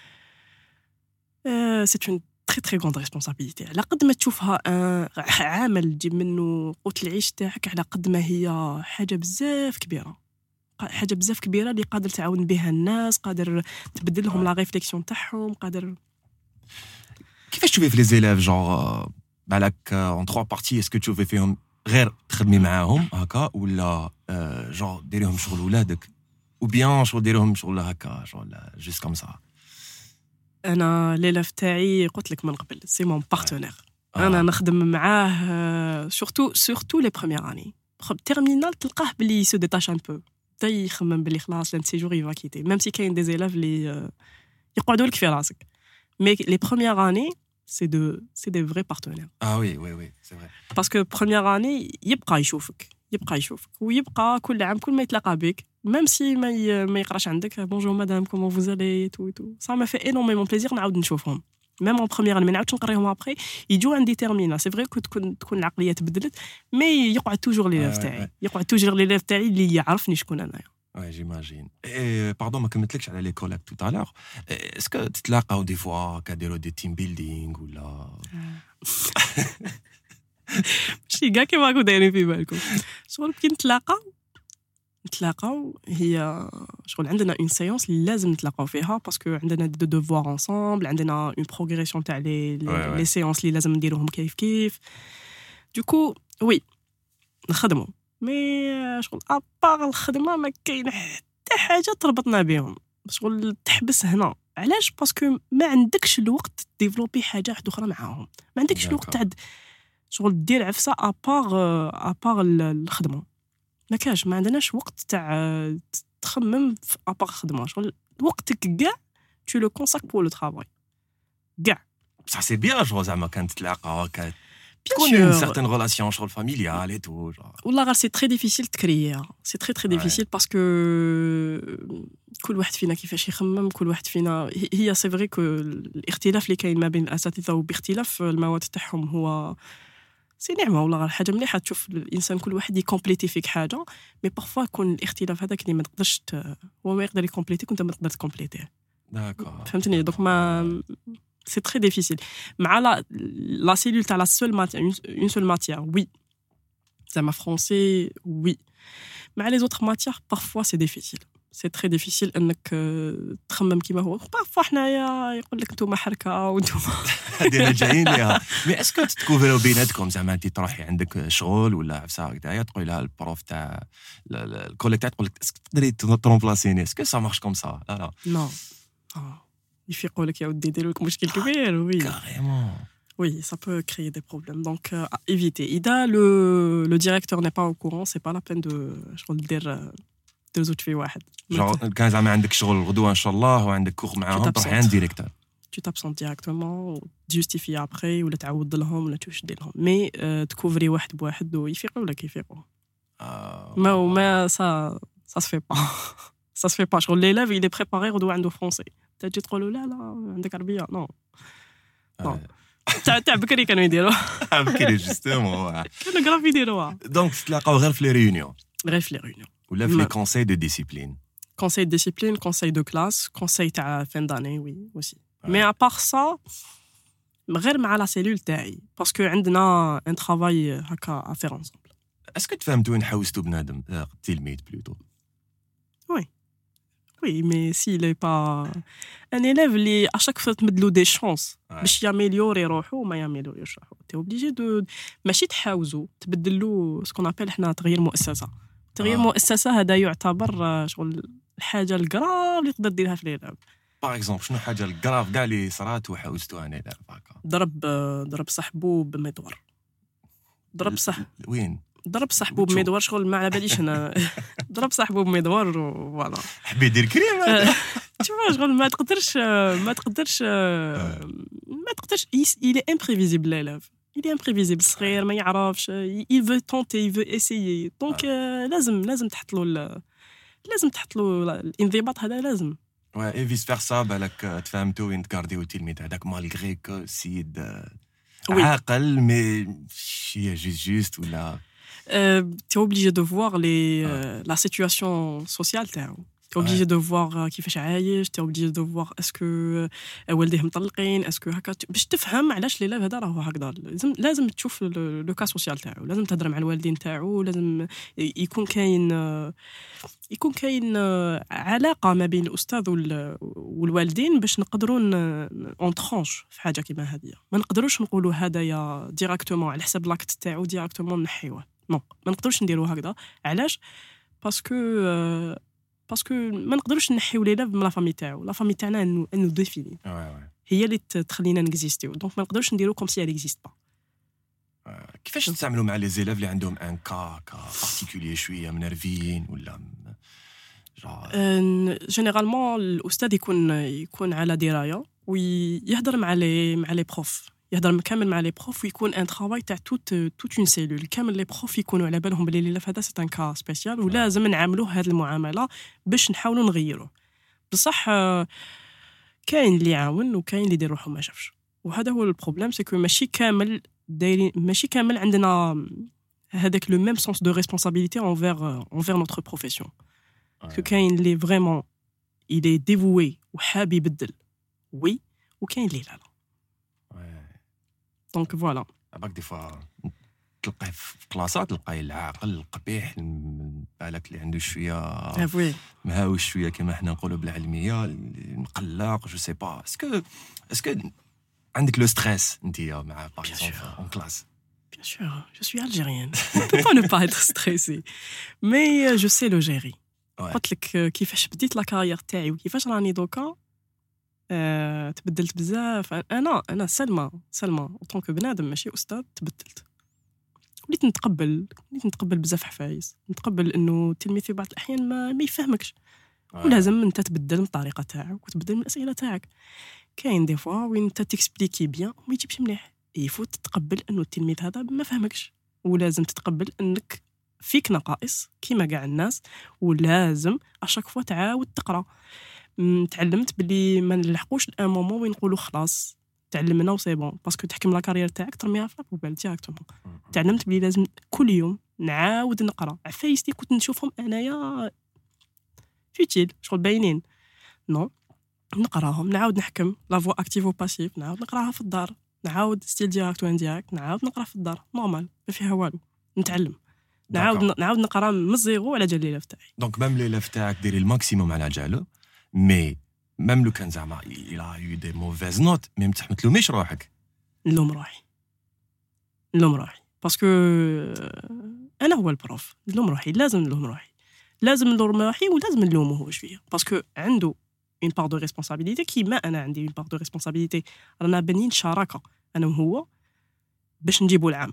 c'est une très grande responsabilité على قد ما تشوفها عامل تجيب منه قوت العيش تاعك على قد ما هي حاجه بزاف كبيره اللي قادر تعاون بها الناس قادر تبدل لهم لا ريفليكسيون تاعهم قادر. كيفاش تشوفي في لي زيلاف جونغ بالك اون 3 بارتي اسكو تشوفي فيهم غير تخدمي معاهم هكا ولا جونغ ديريهم شغل ولادك ou bien شغل ديرهم شغل هكا شغل جوست كوم سا. انا ليلاف تاعي قلت لك من قبل سي مون بارتنير انا نخدم معاه surtout les premières années terminal تلقاه بلي سو ديتاش ان بو تاي يخمم بلي خلاص لان سيجور يفا كيتي ميم سي كاين دي زيلاف اللي يقعدوا لك في راسك مي لي premières années c'est des vrais partenaires. oui c'est vrai parce que première année يبقى يشوفك ويبقى كل عام كل ما يتلاقى بك même si ما يقراش عندك bonjour madame comment vous allez et tout ça m'a fait énormément plaisir نعاود نشوفهم même en première année ما نعاودش نقريهم après يجوا عندي تيرمينا c'est vrai que تكون العقليه تبدلت mais يقعد توجور لي ليف تاعي اللي يعرفني شكون انايا. Ouais, j'imagine. Et pardon, ما كملتلكش على لي كوليك tout à l'heure. Est-ce que تتلاقاو دي فوا كديروا دي تيم بيلدينغ ولا ماشي كاع كيما راكم دايرين في بالكم شغل كي نتلاقى نتلاقاو هي شغل عندنا اون سيونس اللي لازم نتلاقاو فيها باسكو عندنا دو دوفوار انصامبل عندنا اون بروغريسيون تاع لي سيونس اللي لازم نديروهم كيف دوكو وي نخدموا مي شغل ابار الخدمه ما كاين حتى حاجه تربطنا بهم شغل تحبس هنا علاش باسكو ما عندكش الوقت ديفلوبي حاجه واحده اخرى معاهم ما عندكش الوقت تاع شغل دير عفسه ابار الخدمه ما كاش ما عندناش وقت تاع تخمم في ابار الخدمه شغل وقتك كاع tu le consacres pour le travail كاع بصح سي بيان جو زعما كانت تلاقاو هكا Bien تكون sûr. une certaine relation شغل familiale et tout genre. والله c'est très difficile de créer c'est très difficile parce que كل واحد فينا كيفاش يخمم كل واحد فينا هي c'est vrai que الاختلاف اللي كاين ما بين الاساتذه وباختلاف المواد تاعهم هو سي نعمه والله حاجه مليحه تشوف الانسان كل واحد يكومبليتي فيك حاجه مي بارفوا يكون الاختلاف هذاك اللي ما تقدرش هو ما يقدر يكومبليتيك وانت ما تقدر تكومبليتيه D'accord. فهمتني دوك ما c'est très difficile مع la cellule تاع la seule matière une seule matière oui زعما français oui مع les autres matières parfois c'est difficile c'est très difficile انك تخمم كيما هو parfois حنايا يقول لك نتوما حركه وانتوما هادي جايين ليها مي اسكو تكوفروا بيناتكم زعما انت تروحي عندك شغل ولا عفسه هكذايا تقول لها البروف تاع الكوليك تقول لك اسكو تقدري ترومبلاسيني اسكو سا مارش كوم سا لا non يفيقوا لك يا ودي يديروا لك مشكل كبير وي كاريمون Oui, ça peut créer des problèmes. Donc, éviter. Ida, le directeur n'est pas au courant, c'est pas la peine de dire deux autres filles. genre كان زعما عندك شغل غدوه ان شاء الله وعندك كور معاهم تروحي عند ديريكتور Tu t'absentes directement, tu justifies après, ولا تعاود لهم ولا تشد لهم. Mais تكوفري واحد بواحد ويفيقوا ولا كيفيقوا. ما ça se fait pas. Ça se fait pas. شغل l'élève il est préparé غدوه عنده français. تجي تقول لا عندك عربيه. Non. Non. تاع بكري كانوا يديروا بكري جوستومون كانوا غراف يديروها دونك تلاقاو غير في لي ريونيون غير في لي ريونيون ولا في لي كونساي دو ديسيبلين conseil de discipline conseil de classe conseil تاع fin d'année oui aussi mais à part ça غير مع la cellule تاعي parce que عندنا un travail هكا à faire ensemble اسكو تفهمتوا وين حوستوا بنادم التلميذ بلوتو oui mais s'il est pas un élève اللي à chaque fois تمدلو des chances باش ياميليوري روحو وما ياميليوريش روحو تي اوبليجي دو ماشي تحاوزو تبدلو سكون ابل حنا تغيير مؤسسه تغيير مؤسسه هذا يعتبر شغل الحاجه الكراف اللي تقدر ديرها في الإعلام باغ اكزومبل شنو حاجه الكراف كاع اللي صرات وحوستوها انا هكا ضرب صاحبو بمدور وين ضرب صاحبو بمدور شغل ما على باليش انا ضرب صاحبو بمدور فوالا حبي يدير كريم شوف شغل ما تقدرش il est imprévisible l'élève il est imprévisible صغير ما يعرفش il veut tenter il veut essayer donc لازم تحط له الانضباط هذا لازم اي فيس فيرسا بالك تفهمتوا وين تكارديو التلميذ هذاك مالغري كو سيد عاقل مي شي جوست ولا tu es obligé de voir la situation sociale تاعو tu es obligé de voir كيفاش عايش tu es obligé de voir est-ce que والديه مطلقين est-ce que هكا باش تفهم علاش ليلى هذا راهو هكذا لازم تشوف لو كا سوسيال تاعو لازم تهضر مع الوالدين تاعو لازم يكون كاين علاقه ما بين الاستاذ والوالدين باش نقدروا اون ترونش في حاجه كيما هذه ما نقدروش نقولوا هذايا ديريكتومون على حساب لاكت تاعو ديريكتومون نحيوه نو ما نقدروش نديروا هكذا علاش باسكو ما نقدروش نحيو ليلى من لا فامي تاعو لا فامي تاعنا انه ديفيني هي اللي تخلينا نكزيستيو دونك ما نقدروش نديرو كوم سي اكزيست با كيفاش تتعاملوا مع لي زيلاف اللي عندهم ان كا بارتيكولير شويه منرفيين ولا جينيرالمون الاستاذ يكون على درايه ويهضر مع لي بروف يهضر كامل مع لي بروف ويكون ان ترافاي تاع توت اون سيلول كامل لي بروف يكونوا على بالهم بلي ليلى هذا سي ان كا سبيسيال ولازم نعاملوه هذه المعامله باش نحاولوا نغيروه بصح كاين اللي يعاون وكاين اللي يدير روحو ما شافش وهذا هو البروبليم سي كو ماشي كامل عندنا هذاك لو ميم سونس دو ريسبونسابيلتي envers notre profession que كاين اللي فريمون il est dévoué وحاب يبدل وي وكاين اللي لا دونك فوالا باك دي فوا تلقاه في كلاسات تلقاه العاقل القبيح بالك اللي عنده شويه وي مهاوش شويه كما حنا نقولوا بالعلميه مقلق جو سي با اسكو عندك لو ستريس انت مع باغ اكزومبل اون كلاس Bien sûr, je suis algérienne. On ne peut pas ne pas être stressée. Mais je sais le gérer. قلت لك كيفاش بديت لا كارير تاعي وكيفاش راني دوكا تبدلت بزاف. انا سلمى ان طونك بنادم ماشي استاذ تبدلت. وليت نتقبل بزاف حفايس، نتقبل انه التلميذ في بعض الاحيان ما يفهمكش ولازم انت تبدل من الطريقه تاعك وتبدل من الاسئله تاعك. كاين دي فوا وين انت تكسبليكي بيان وما يجيبش مليح، يفوت تتقبل انه التلميذ هذا ما فهمكش، ولازم تتقبل انك فيك نقائص كيما كاع الناس، ولازم اشاك فوا تعاود تقرا. تعلمت بلي ما نلحقوش الان مومون وين نقولوا خلاص تعلمنا وسي بون باسكو تحكم لا كارير تاعك ترميها في البال ديريكتومون. تعلمت بلي لازم كل يوم نعاود نقرا. عفايس اللي كنت نشوفهم انايا فيتيل شغل باينين نو نقراهم نعاود نحكم لا فوا اكتيف و باسيف، نعاود نقراها في الدار، نعاود ستيل ديريكت وان ديريكت نعاود نقرا في الدار نورمال ما فيها والو. نتعلم نعاود نقرا من الزيرو على جال ليلف تاعي. دونك ميم ليلف تاعك ديري الماكسيموم على جالو، مي ميم لو كان زعما il a eu des mauvaises notes مي ما تلوميش روحك. نلوم روحي باسكو انا هو البروف. نلوم روحي، لازم نلوم روحي ولازم نلومه هو شويه باسكو عنده une part de responsabilité كيما انا عندي une part de responsabilité. رانا بنين شراكه انا وهو باش نجيبوا العام،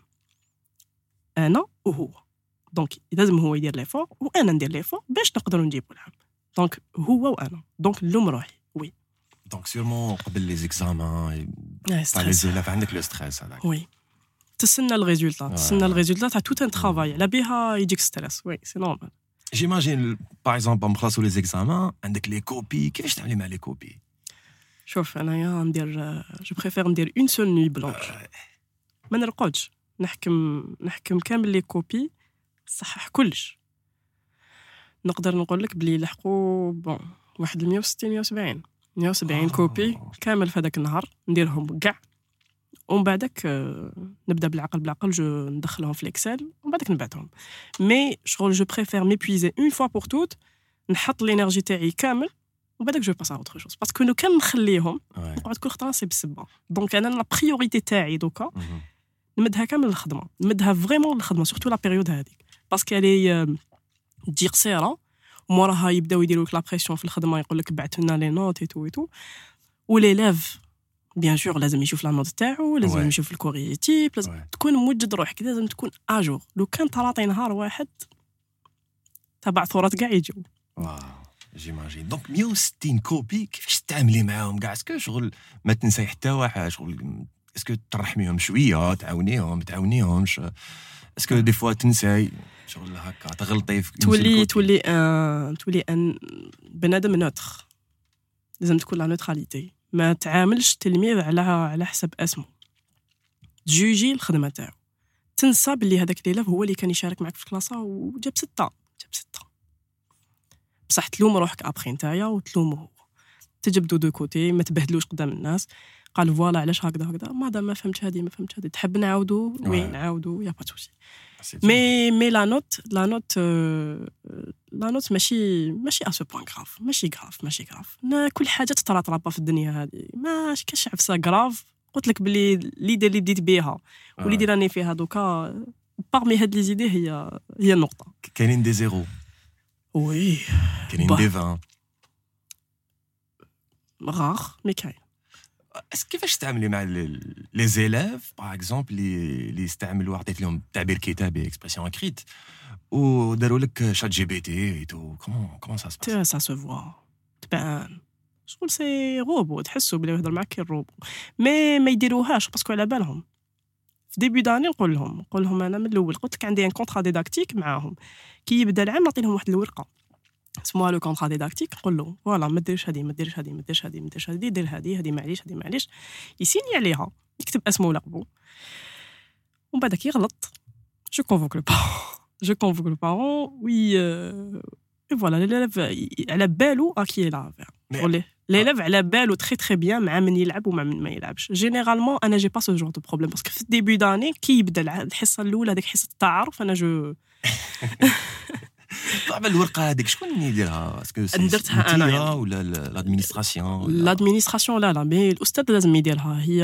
انا وهو. دونك لازم هو يدير ليفور وانا ندير ليفور باش نقدروا نجيبوا العام. دونك هو وانا دونك نلوم روحي. وي دونك سيرمون قبل لي زيكزامان تاع لي زيلاف عندك لو ستريس هذاك. وي تسنى الريزولتا تاع توت ان ترافاي على بيها يجيك ستريس. وي سي نورمال. جيماجين باغ اكزومبل نخلصوا لي زيكزامان عندك لي كوبي، كيفاش تعملي مع لي كوبي؟ شوف انايا ندير جو بريفير ندير اون سول نوي بلونش، ما نرقدش نحكم كامل لي كوبي صحح كلش. نقدر نقول لك بلي لحقوا بون واحد 160 كوبي كامل في هذاك النهار نديرهم كاع، ومن بعدك نبدا بالعقل جو ندخلهم في الاكسل ومن بعدك نبعثهم. مي شغل جو بريفير ميبويزي اون فوا بور توت، نحط لينيرجي تاعي كامل ومن بعدك جو باس ا اوتر شوز باسكو لو كان نخليهم نقعد كل خطره سي بالسبه. دونك انا لا بريوريتي تاعي دوكا نمدها كامل للخدمه، نمدها فريمون للخدمه سورتو لا بيريود هذيك باسكو لي تجي قصيره وموراها يبداو يديروا لك لا بريسيون في الخدمه، يقول لك بعثوا لنا لي نوت اي تو وليلاف بيان سور لازم يشوف لا نوت تاعو، لازم يشوف الكوري تيب، لازم تكون موجد روحك، لازم تكون اجور. لو كان طراطي نهار واحد تبع ثورات كاع يجوا. جيماجين. دونك 160 كوبي كيفاش تعاملي معاهم كاع؟ اسكو شغل ما تنساي حتى واحد؟ شغل اسكو ترحميهم شويه، تعاونيهم تعاونيهمش؟ اسكو دي فوا تنساي شغل هكا تغلطي في تولي ان بنادم نوتر، لازم تكون لا نوتراليتي. ما تعاملش تلميذ على حسب اسمه، تجوجي الخدمه تاعو، تنسى باللي هذاك الليله هو اللي كان يشارك معك في الكلاسه وجاب 6 بصح تلوم روحك ابخي نتايا وتلومه هو، تجبدوا دو كوتي، ما تبهدلوش قدام الناس. قال فوالا علاش هكذا ماذا ما فهمتش هذه تحب نعاودوا وين نعاودوا يا با توسي. مي لا نوت ماشي ا سو بوين غراف، ماشي غراف. كل حاجه تطرطرابا في الدنيا هذه، ما كاش عفسه غراف. قلت لك بلي ليدي اللي بديت بها واللي راني فيها دوكا باغمي هاد لي زيدي هي النقطه. كاينين دي زيرو، وي كاينين دي 20 غار مي كاين. كيفاش تعاملي مع لي زيلاف باغ اكزومبل اللي يستعملوا عطيت لهم تعبير كتابي اكسبرسيون اكريت وداروا لك شات جي بي تي تو كومون سا سو فوا تبان شغل سي روبو، تحسوا بلي يهضر معك الروبو. ما يديروهاش باسكو على بالهم. في ديبي داني نقول لهم انا من الاول قلت لك عندي ان كونطرا ديداكتيك معاهم، كي يبدا العام نعطي لهم واحد الورقه اسمها لو كونطرا ديداكتيك، نقول له فوالا ما ديرش هذه دير هذه معليش يسيني عليها، يكتب اسمه ولقبه ومن بعدك يغلط جو كونفوك لو بارون وي فوالا ليليف على بالو اكي لا ليليف على بالو تري بيان مع من يلعب ومع من ما يلعبش. جينيرالمون انا جي با سو جور دو بروبليم باسكو في الديبي داني كي يبدا الحصه الاولى هذيك حصه التعارف انا جو طبعا الورقه هذيك شكون اللي يديرها اسكو درتها أنا ولا الادمينستراسيون لادمينستراسيون لا مي الاستاذ لازم يديرها هي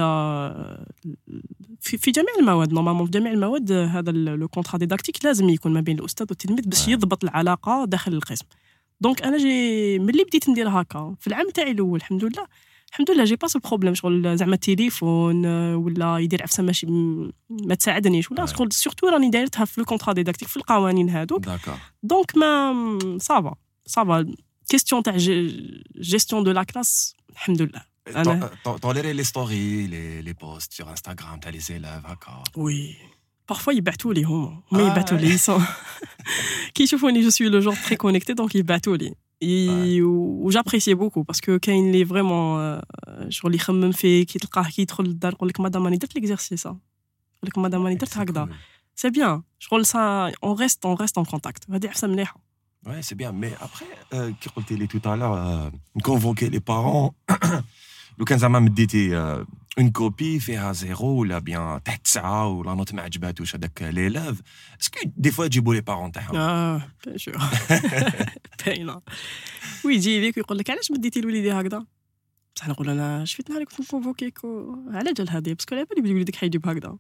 في جميع المواد نورمالمون في جميع المواد هذا لو كونترا ديداكتيك لازم يكون ما بين الاستاذ والتلميذ باش يضبط العلاقه داخل القسم دونك انا جي ملي بديت ندير هكا في العام تاعي الاول الحمد لله جي باس البروبليم شغل زعما التليفون ولا يدير عفسه ماشي ما تساعدنيش ولا شغل سورتو راني دايرتها في لو كونترا ديداكتيك في القوانين هذوك دونك ما صافا كيستيون تاع جيستيون دو لا كلاس الحمد لله انا طوليري لي ستوري لي بوست sur Instagram تاع لي زيلاف هكا وي parfois يبعثوا لي هما يبعثوا لي كي يشوفوني جو سوي لو جور تري كونيكتي دونك يبعثوا لي و j'apprécie beaucoup parce que كاين لي فريمون شغل يخمم فيك كي تلقاه كي يدخل للدار يقول لك مدام راني درت ليكزارسيس يقول لك مدام راني درت هكذا سي بيان شغل سا اون ريست ان كونتاكت هذه احسن مليحه Ouais, c'est bien. Mais après, qui قلتي tout à l'heure, convoquer les parents. لو كان زعما مديتي اون كوبي فيها زيرو ولا بيان تحت 9 ولا نوت ما عجباتوش هذاك ليلاف اسكو دي فوا تجيبوا لي بارون تاعهم بيان سور باينه ويجي ليك ويقول لك علاش مديتي لوليدي هكذا بصح نقول انا شفت نهار كنت نكونفوكيك على جال هذه باسكو على بالي بلي وليدك حيجيب هكذا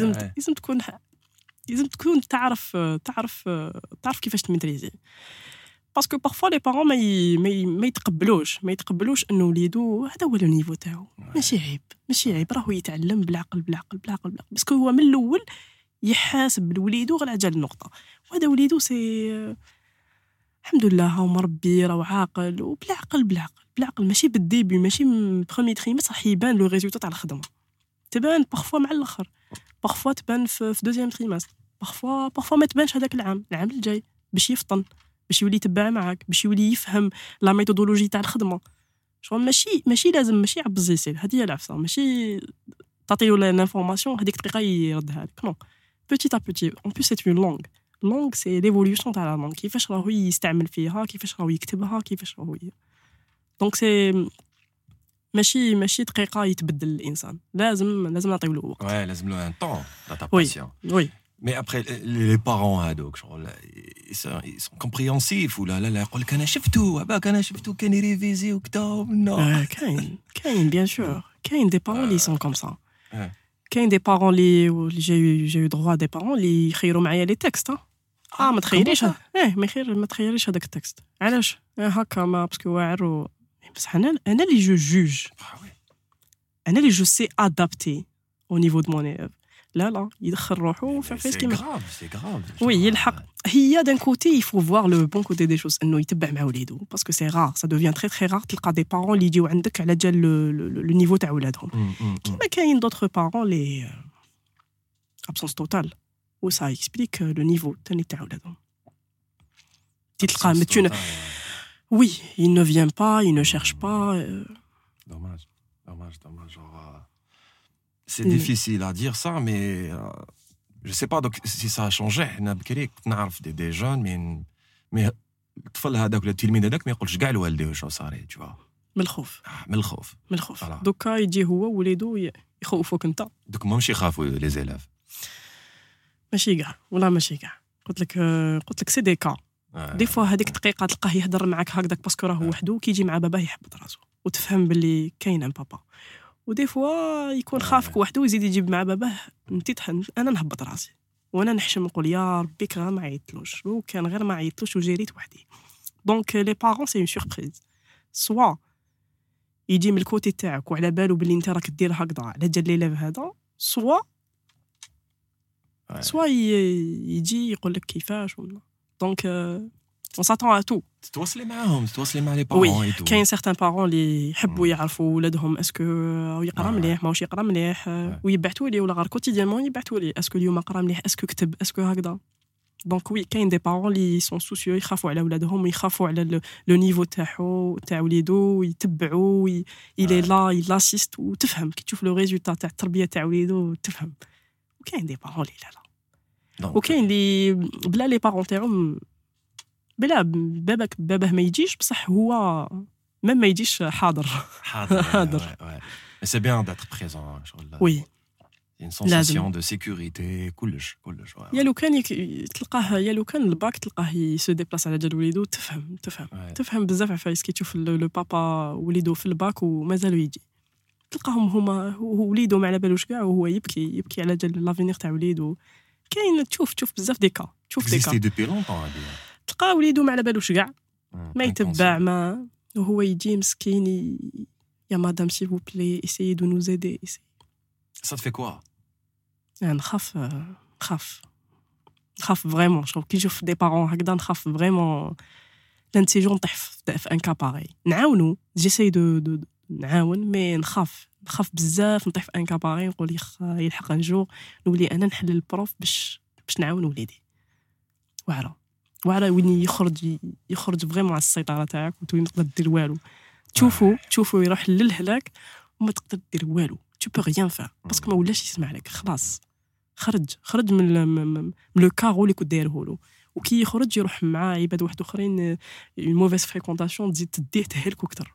لازم تكون تعرف كيفاش تميتريزي باسكو بارفوا لي بارون ما يتقبلوش انه وليدو هذا هو لو نيفو تاعو ماشي عيب راهو يتعلم بالعقل باسكو هو من الاول يحاسب لوليدو غير على جال النقطه وهذا وليدو سي الحمد لله هو مربي راه عاقل وبالعقل ماشي بالديبي ماشي من بروميي تريمستر راح يبان لو ريزولطا تاع الخدمه تبان بارفوا مع الاخر بارفوا تبان في دوزيام تريمستر بارفوا ما تبانش هذاك العام الجاي باش يفطن باش يولي يتبع معاك باش يولي يفهم لا ميثودولوجي تاع الخدمه شغل ماشي لازم ماشي عبز يسير هذه هي العفسه ماشي تعطيو لانفورماسيون هذيك الدقيقه يردها لك نو بوتي تا بوتي اون بليس سي اون لونغ سي ليفوليوشن تاع لا لونغ كيفاش راهو يستعمل فيها كيفاش راهو يكتبها كيفاش راهو دونك سي ماشي دقيقه يتبدل الانسان لازم نعطيو له وقت لازم له ان طون دادابتاسيون وي Mais après, les parents هذوك ils sont compréhensifs ولا يقول لك انا شفتو كان يريفيزي وكذا كاين بيان سور كاين دي بارون لي سون كوم سا كاين دي بارون لي جي دروا دي بارون لي يخيروا معايا لي تكست ما تخيليش ما تخيليش هذاك التكست علاش هكا ما باسكو واعر بصح انا اللي جوج انا اللي جو سي ادابتي au niveau de mon élève لا يدخل روحه في كيما سي غراف وي يلحق هي دان كوتي يفو فوار لو بون كوتي دي شوز انه يتبع مع وليدو باسكو سي رار سا دوفيان تري تري رار تلقى دي بارون اللي يجيو عندك على جال لو نيفو تاع ولادهم كيما كاين دوطخ بارون لي ابسونس توتال و سا اكسبليك لو نيفو تاع ولادهم تلقى متون وي il ne vient pas il ne cherche pas dommage c'est difficile à dire ça mais je sais pas donc si ça a changé حنا بكري كنت نعرف دي جون مي الطفل هذاك ولا التلميذ هذاك ما يقولش كاع لوالديه واش صاري tu vois من الخوف دوكا يجي هو وليدو يخوفوك انت دوك ماهمش يخافوا لي زيلاف ماشي كاع قلت لك سي دي كا دي فوا هذيك الدقيقه تلقاه يهضر معاك هكذاك باسكو راه وحده كيجي مع باباه يحبط راسو وتفهم باللي كاين ان بابا ودي فوا يكون خافك وحده ويزيد يجيب مع باباه انت انا نهبط راسي وانا نحشم نقول يا ربي غير ما عيطلوش وكان غير ما عيطلوش وجريت وحدي دونك لي بارون سي اون سوربريز سوا يجي من الكوتي تاعك وعلى بالو باللي انت راك دير هكذا على جال ليلاب هذا سوا يجي يقول لك كيفاش ولا دونك on s'attend à tout تتواصلي مع لي بارون oui كاين certains parents اللي يحبوا يعرفوا ولادهم اسكو يقرا مليح ماهوش يقرا مليح ويبعثوا لي ولا غير كوتيديانمون يبعثوا لي اسكو اليوم قرا مليح اسكو كتب اسكو هكذا دونك وي كاين دي بارون اللي سون سوسيو يخافوا على ولادهم ويخافوا على لو نيفو تاع وليدو ويتبعوا الى لا يلاسيست وتفهم كي تشوف لو ريزولطا تاع التربيه تاع وليدو تفهم وكاين دي بارون اللي لا وكاين اللي بلا لي بارون تاعهم بلا باباه ما يجيش بصح هو ما يجيش حاضر سي بيان داتر بريزون وي une sensation de sécurité كلش يا لو كان تلقاه يا لو كان الباك تلقاه يسو ديبلاس على جال وليدو تفهم بزاف عفايس كي تشوف لو بابا وليدو في الباك ومازالو يجي تلقاهم هما وليدو ما على بالوش كاع وهو يبكي على جال لافينير تاع وليدو كاين تشوف بزاف ديكا اكزيستي دوبي لونطون هادي تلقى وليدو ما على بالوش كاع ما يتبع ما وهو يجي مسكين يا مدام سي فو بلي essayez de nous aider ça te fait quoi نخاف فريمون شوف كي نشوف دي بارون هكذا نخاف فريمون لان سي جون نطيح في ان كا باغي نعاونو جيساي دو نعاون مي نخاف بزاف نطيح في ان كا باغي نقول يلحق ان جور نولي انا نحل البروف باش نعاون وليدي واعره وين يخرج فريمون على السيطره تاعك وتولي تقدر دير والو تشوفو يروح للهلاك وما تقدر دير والو tu peux rien faire parce que ما ولاش يسمع لك خلاص خرج من لو كارو اللي كنت دايره له وكي يخرج يروح مع عباد واحد اخرين اون موفيس فريكونطاسيون تزيد تديه تهلكو اكثر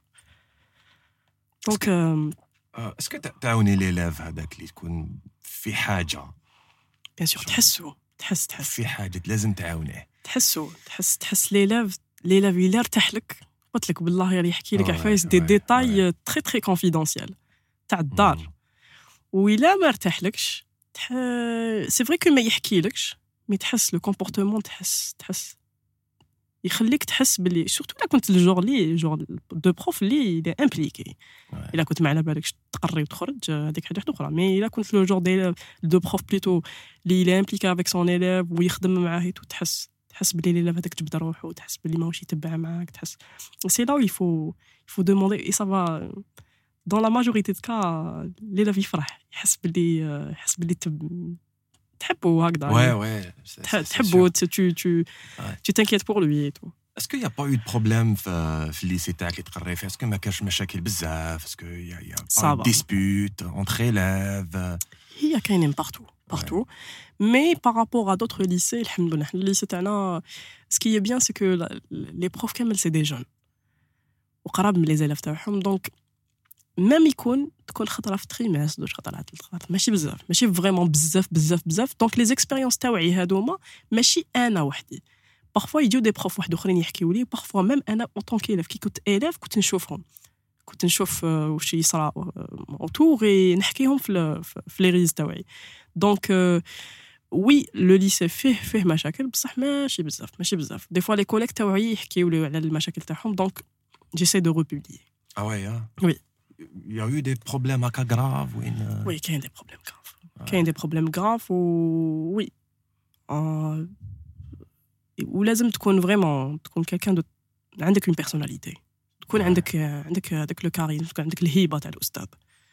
دونك اسكو تعاوني ليلاف هذاك اللي تكون في حاجه بيان سور تحس في حاجه لازم تعاونيه تحس ليلاف الا ارتاح لك قلت لك بالله يا يحكي لك عفايس دي ديتاي تري تري كونفيدونسيال تاع الدار وإلا ما ارتاحلكش سي فري كو ما يحكيلكش مي تحس لو كومبورتمون تحس يخليك تحس باللي سورتو الا كنت الجور دو بروف اللي امبليكي الا كنت ما على بالكش تقري وتخرج هذيك حاجه اخرى مي الا كنت لو جور دو بروف بليتو اللي امبليكي افيك سون ايليف ويخدم معاه تحس باللي l'élève هذاك جبد روحو تحس باللي ماهوش يتبع معاك تحس سي لا il faut demander et ça va dans la majorité de cas l'élève يفرح يحس باللي تحبه هكذا تحبه tu t'inquiètes pour lui et tout. Est-ce qu'il y a pas eu de problème في الليسي تاعك اللي تقري فيه؟ Est-ce que ما كانش مشاكل بزاف؟ Est-ce que y a pas de dispute entre élèves؟ هي كاينين partout mais par rapport à d'autres lycées الحمد لله الليسي تاعنا ce qui est bien c'est que les profs كامل c'est des jeunes وقراب من les élèves تاعهم donc même تكون خطره في تريماس دوش خطرات ماشي بزاف ماشي فريمون بزاف دونك لي زيكسبيريونس تاوعي هادوما ماشي انا وحدي بارفوا يجيو دي بروف واحد اخرين يحكيوا لي بارفوا ميم انا اون طون كيليف كي كنت اليف كنت نشوف واش يصرا اوتور نحكيهم في لي ريز تاوعي دونك وي لو ليسي فيه مشاكل بصح ماشي بزاف دي فوا لي كوليك تاوعي يحكيوا لي على المشاكل تاعهم دونك جيساي دو ريبوبليي وي Il y a eu des problèmes graves Oui, il y a des problèmes graves. Il y a des problèmes graves oui. ولازم تكون vraiment تكون quelqu'un de عندك une personnalité. تكون عندك هذاك لو كاريزم تكون عندك الهيبة تاع الأستاذ.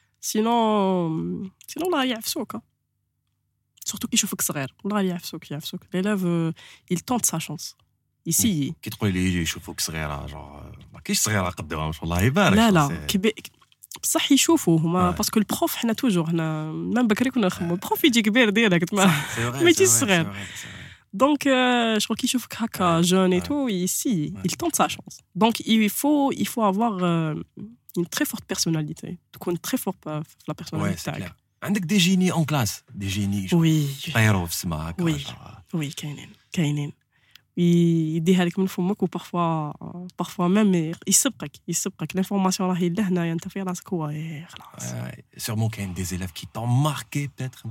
sinon الله يعفسوك. surtout كي يشوفك صغير الله يعفسوك. l'élève il tente sa chance. ici كي تقول لي يشوفوك صغيرة ما كاينش صغيرة قدامهم والله يبارك. لا بصح يشوفوا هما باسكو البروف حنا توجور حنا ميم بكري كنا نخمو البروف يجي كبير ديالك ما يجيش صغير دونك شغل كي يشوفك هكا جون اي تو يسي il tente sa chance donc il faut avoir une très forte personnalité تكون très fort في la personnalité تاعك عندك دي جيني اون كلاس دي جيني طيروا في السما هكا وي كاينين يديها لك من فمك وبارفوا ميم يسبقك لانفورماسيون راهي لهنا انت في راسك هو خلاص سيرمون كاين دي زيليف كي طون ماركي بيتر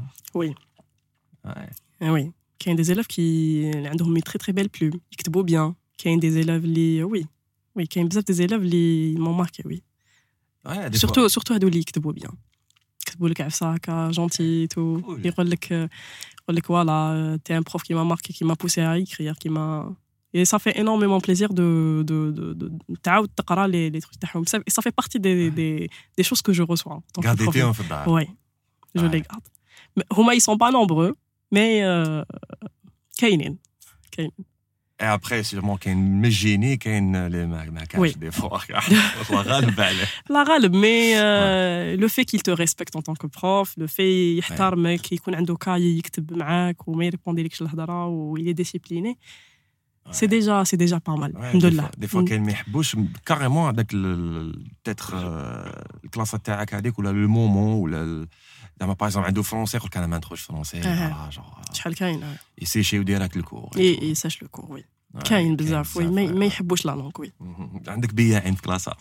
وي كاين دي زيليف كي عندهم تري تري بيل بلوم يكتبوا بيان كاين دي زيليف اللي وي كاين بزاف دي زيليف اللي مون ماركي وي سورتو هادو اللي يكتبوا بيان يكتبوا لك عفسه هكا جونتي تو يقول لك voilà t'es un prof qui m'a marqué qui m'a poussé à écrire qui m'a et ça fait énormément plaisir de تعاود تقرا les trucs تاعهم et ça fait partie des choses que je reçois gardez-les في الدار ouais je les garde هما ils sont pas nombreux mais كاينين et après sûrement كاين مجيني كاين اللي ما كانش دي فوا والله غالب عليه لا غالب مي لو في qu'il te respecte en tant que prof le fait يحترمك يكون عنده كاي يكتب معاك وما يريبونديلكش الهضره ويلي ديسيبليني سي ديجا با مال الحمد لله دي فوا كاين ما يحبوش كاريمون هذاك بيتر الكلاس تاعك هذيك ولا لو مومون ولا زعما باغ اكزومبل عنده فرونسي يقول لك انا ما ندخلش فرونسي فوالا جونغ شحال كاين يسيشيو ديراك الكور اي ساش لو كور وي كاين بزاف وي ما يحبوش لا لونغ وي عندك بياعين في كلاسه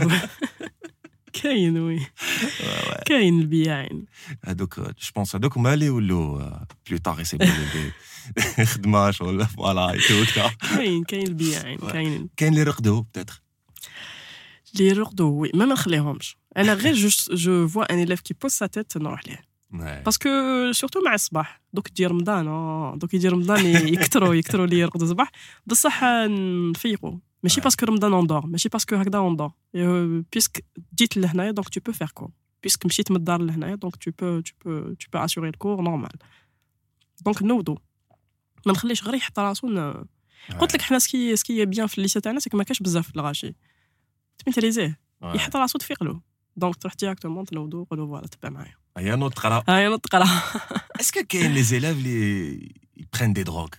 كاين وي كاين البياعين هذوك جو بونس هذوك هما اللي ولاو بلو طاغ يسيبوا خدمه ولا فوالا يتوكا كاين البياعين كاين اللي رقدوا بتاتر اللي رقدوا وي ما نخليهمش انا غير جو فوا ان élève qui pose sa tête نروح ليه باسكو سورتو مع الصباح دوك يجي رمضان دوك يجي رمضان يكثروا لي يرقدوا الصباح بصح نفيقوا ماشي باسكو رمضان اندور ماشي باسكو هكذا اندور بيسك جيت لهنايا دونك تو بو فير كور بيسك مشيت من الدار لهنايا دونك تو بو اسوري الكور نورمال دونك نوضوا ما نخليش غير يحط راسو قلت لك حنا سكي بيان في الليسه تاعنا سكي ما كاش بزاف الغاشي تميتريزيه يحط راسو تفيق له دونك تروح ديريكتومون تنوضوا قولوا فوالا تبع معايا هيا نوض تقرا اسكو كاين لي زيلاف لي يبرين دي دروغ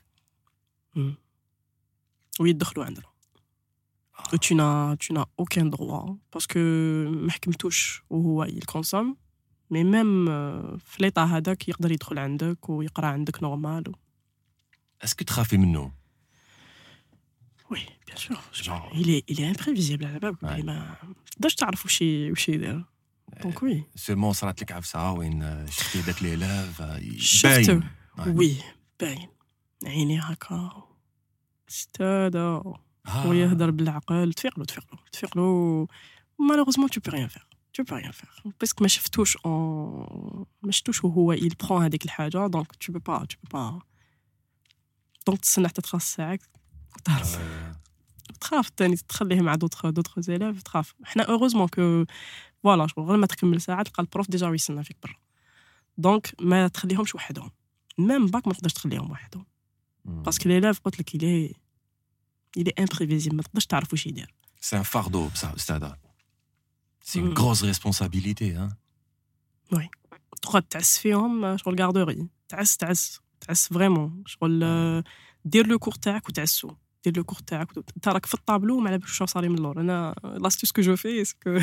ويدخلوا عندنا tu n'as aucun droit parce que ما حكمتوش وهو يكونسوم مي ميم في ليطا هذاك يقدر يدخل عندك ويقرا عندك نورمال اسكو تخافي منه وي بيان سور il est imprévisible على بالك ما تقدرش تعرف واش يدير دونك وي سيرمون صرات لك عفسه وين شفتي داك لي لاف باين وي باين عيني هكا استاذ ويهدر بالعقل تفيق له malheureusement tu peux rien faire parce que ما شفتوش وهو il prend هذيك الحاجه donc tu peux pas donc تسنى حتى تخلص ساعه تخاف تاني تخليه مع دوطخ زيلاف تخاف حنا heureusement que فوالا غير ما تكمل ساعه تلقى البروف ديجا يستنى فيك برا دونك ما تخليهمش وحدهم ميم باك ما تقدرش تخليهم وحدهم باسكو ليلاف قلت لك il est imprévisible ما تقدرش تعرف واش يدير c'est un fardeau ça استاذ c'est une grosse responsabilité hein oui تقعد تعس فيهم شغل غاردوري تعس فريمون شغل دير لو كور تاعك وتعسو دير لو كور تاعك انت راك في الطابلو ما على بالك واش صاري من اللور انا لاستيس كو جو في اسكو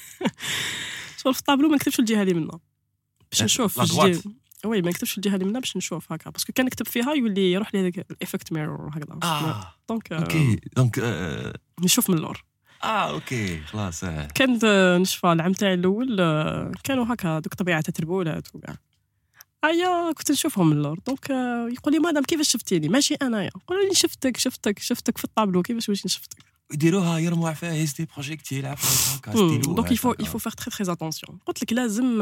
شغل في الطابلو ما نكتبش الجهه اللي منا باش نشوف وي ما نكتبش الجهه اللي منا باش نشوف هكا باسكو كان نكتب فيها يولي يروح لي هذاك الايفكت ميرور هكذا دونك اوكي دونك نشوف من اللور اوكي خلاص كنت نشفى العام تاعي الاول كانوا هكا دوك طبيعه تربولات وكاع كنت نشوفهم من اللور دونك يقول لي مادام كيفاش شفتيني ماشي انايا نقول لي شفتك في الطابلو كيفاش واش نشفتك يديروها يرموا عفايس دي بروجيكتيل عفايس هكا ستيلو دونك il faut faire très très attention قلت لك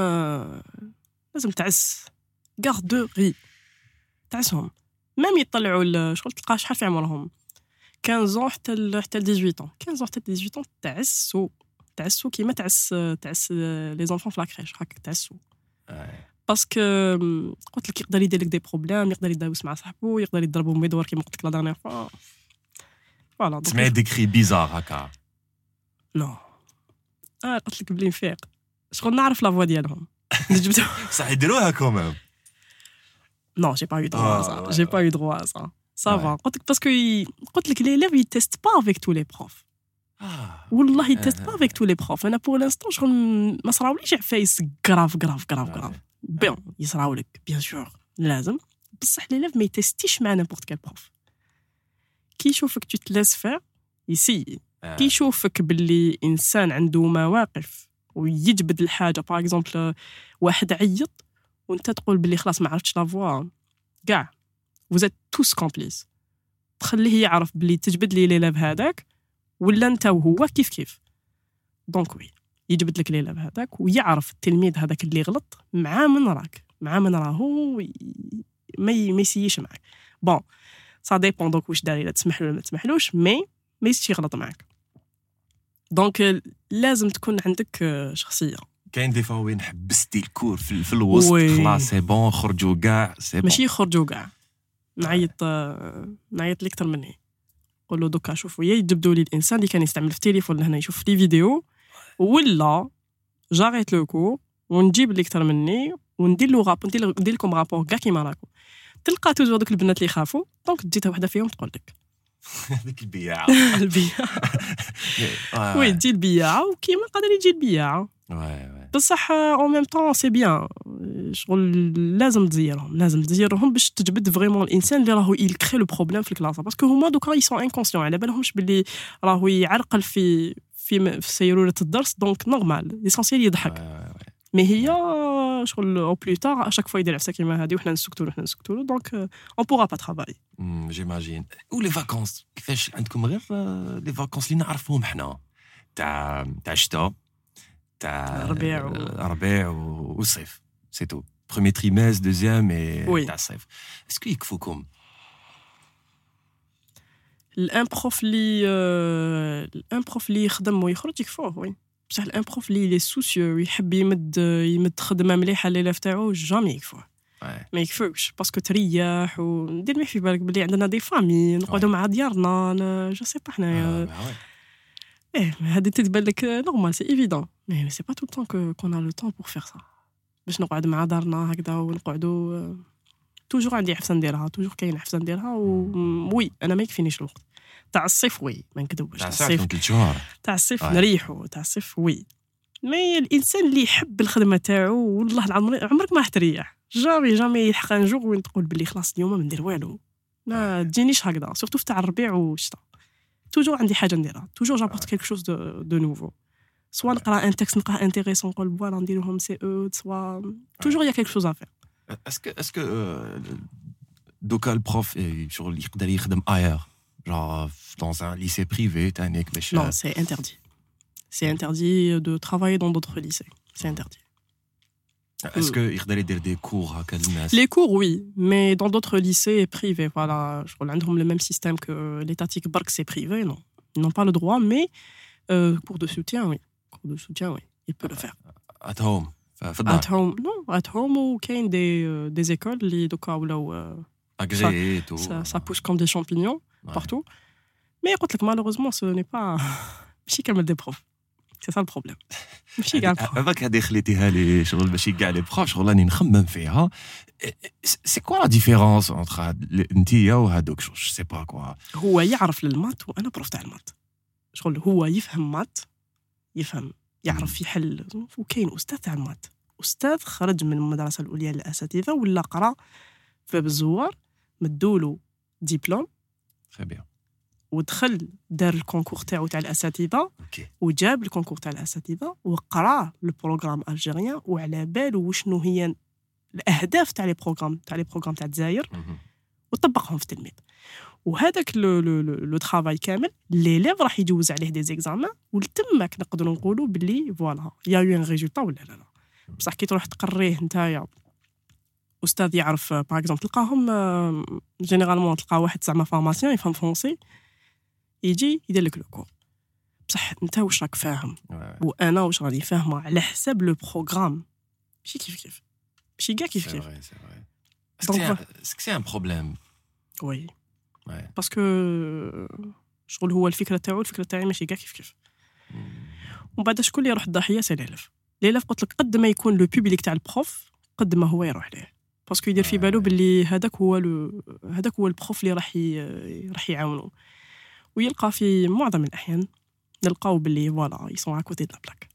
لازم تعس غاردوري تعسهم ميم يطلعوا شغل تلقى شحال في عمرهم 15 حتى ل 18 15 حتى 18 تعسوا كيما تعس لي زونفون في لاكريش هكا تعسوا باسكو قلت لك يقدر يدير لك دي بروبليم يقدر يداوس مع صاحبو يقدر يضربو ميدور كيما قلت لك لا دانيير فوا فوالا تسمع دي كري بيزار هكا نو قلت لك بلي نفيق شغل نعرف لا فوا ديالهم صح يديروها كومام Non, j'ai pas eu droit à ça. J'ai pas eu droit à ça. Ça va. Parce que les élèves, ils testent pas avec tous les profs. Wallah, ils testent pas avec tous les profs. Et pour l'instant, je ما صراوليش عفايس grave. Bien, يصراولك bien sûr. لازم. بصح l'élève ما يتستيش مع n'importe quel prof. كي يشوفك tu te laisses faire, يسي. كي يشوفك باللي إنسان عنده مواقف ويجبد الحاجة باغ اكزومبل واحد عيط وانت تقول باللي خلاص ما عرفتش لا فوا كاع وزات توس كومبليس تخليه يعرف باللي تجبد لي ليلاب هذاك ولا انت وهو كيف دونك وي يجبد لك ليلاب هذاك ويعرف التلميذ هذاك اللي غلط مع من راهو ما يسييش معك بون سا ديبون دونك واش داري لا تسمح له ولا ما تسمحلوش مي يسيي غلط معك دونك لازم تكون عندك شخصيه كاين دي فوا وين حبستي الكور في الوسط خلاص سي بون خرجوا كاع سي بون ماشي خرجوا كاع نعيط لي اكثر مني نقول له دوكا شوفوا يجبدوا لي الانسان اللي كان يستعمل في التليفون لهنا يشوف لي فيديو ولا جاريت لو كور ونجيب اللي اكثر مني وندير له ندير لكم رابور كاع كيما راكم تلقى توجور دوك البنات اللي يخافوا دونك تجي وحده فيهم تقول لك هذيك البياعه وي تجي البياعه وكيما قادر يجي البياعه بصح en même temps c'est bien شغل لازم تزيرهم باش تجبد فريمون الانسان اللي راهو يكري لو بروبليم في الكلاس باسكو هما دوكا يسون انكونسيون على بالهمش باللي راهو يعرقل في سيروره الدرس دونك نورمال ليسونسيال يضحك مي هي شغل او بلو تار اشاك فوا يدير عفسه كيما هذه وحنا نسكتوا دونك اون بورا با ترافاي جيماجين ولي فاكونس كيفاش عندكم غير لي فاكونس اللي نعرفوهم حنا تاع الشتاء تاع الربيع والصيف سي تو premier trimestre deuxième et تاع الصيف اسكو يكفوكم الان بروف اللي يخدم ويخرج يكفوه وي بصح الان بروف اللي لي سوسيو يحب يمد خدمه مليحه ليلاف تاعو جامي يكفوه ما يكفوش باسكو تريح ودير ما في بالك بلي عندنا دي فامي نقعدوا مع ديارنا جو سي با حنايا هذه تتبان لك نورمال سي ايفيدون مي سي با تو طون كون ا لو طون بور فير سا باش نقعد مع دارنا هكذا ونقعدوا توجور عندي حفصه نديرها توجور كاين حفصه نديرها وي انا ما يكفينيش الوقت تاع الصيف وي ما نكذبش تاع الصيف 3 شهور تاع الصيف نريحوا تاع الصيف وي مي الانسان اللي يحب الخدمه تاعو والله العظيم عمرك ما حتريح جامي يلحق ان جور وين تقول بلي خلاص اليوم ما ندير والو ما تجينيش هكذا سورتو في تاع الربيع والشتاء توجور عندي حاجه نديرها توجور جابورت كيلك شوز دو نوفو سوا نقرا ان تكست نلقاه انتريسون نقول فوالا نديرهم سي او سوا توجور يا كيلك شوز ا فير اسكو دوكا البروف شغل يقدر يخدم اير genre dans un lycée privé تانيك باش non c'est interdit de travailler dans d'autres lycées c'est interdit est-ce que يقدر يدير des cours هكا للناس les cours oui mais dans d'autres lycées privés voilà شغل عندهم le même système que l'étatique برك c'est privé non ils n'ont pas le droit mais cours de soutien oui il peut le faire at home at home non at home وكاين des écoles اللي دوكا ولاو agréé tout ça pousse comme des champignons partout mais قلت لك malheureusement ce n'est pas ماشي كامل des profs c'est ça le problème ماشي كاع هذاك هذه خليتيها لي شغل ماشي كاع لي بروف شغل راني نخمم فيها سي كوا لا ديفيرونس انتر انتيا وهذوك جو سي با كوا هو يعرف للمات وانا بروف تاع المات شغل هو يفهم مات يعرف يحل وكاين استاذ تاع المات استاذ خرج من المدرسه العليا للاساتذه ولا قرا في بالزوار مدولو ديبلوم très bien ودخل دار الكونكور تاعو تاع الاساتذه وجاب الكونكور تاع الاساتذه وقرا البروغرام الجيريان وعلى بالو وشنو هي الاهداف تاع لي بروغرام تاع الجزائر وطبقهم في التلميذ وهذاك لو ترافاي كامل ليليف راح يجوز عليه دي زيكزامان ولتماك نقدروا نقولوا باللي فوالا يا يو ان ريزولطا ولا لا بصح كي تروح تقريه نتايا استاذ يعرف باغ اكزومبل تلقاهم جينيرالمون تلقى واحد زعما فورماسيون يفهم فرونسي يجي يدير لك لو كور بصح انت واش راك فاهم وانا واش راني فاهمه على حساب لو بروغرام ماشي كيف ماشي كاع كيف سي ان بروبليم وي باسكو شغل هو الفكره تاعي ماشي كاع كيف ومن بعد شكون اللي يروح الضحيه سي ليلاف قلت لك قد ما يكون لو بوبليك تاع البروف قد ما هو يروح ليه باسكو يدير في بالو باللي هذاك هو البروف اللي راح يعاونو ويلقى في معظم الاحيان نلقاو باللي فوالا يسون اكوتي دو لا بلاك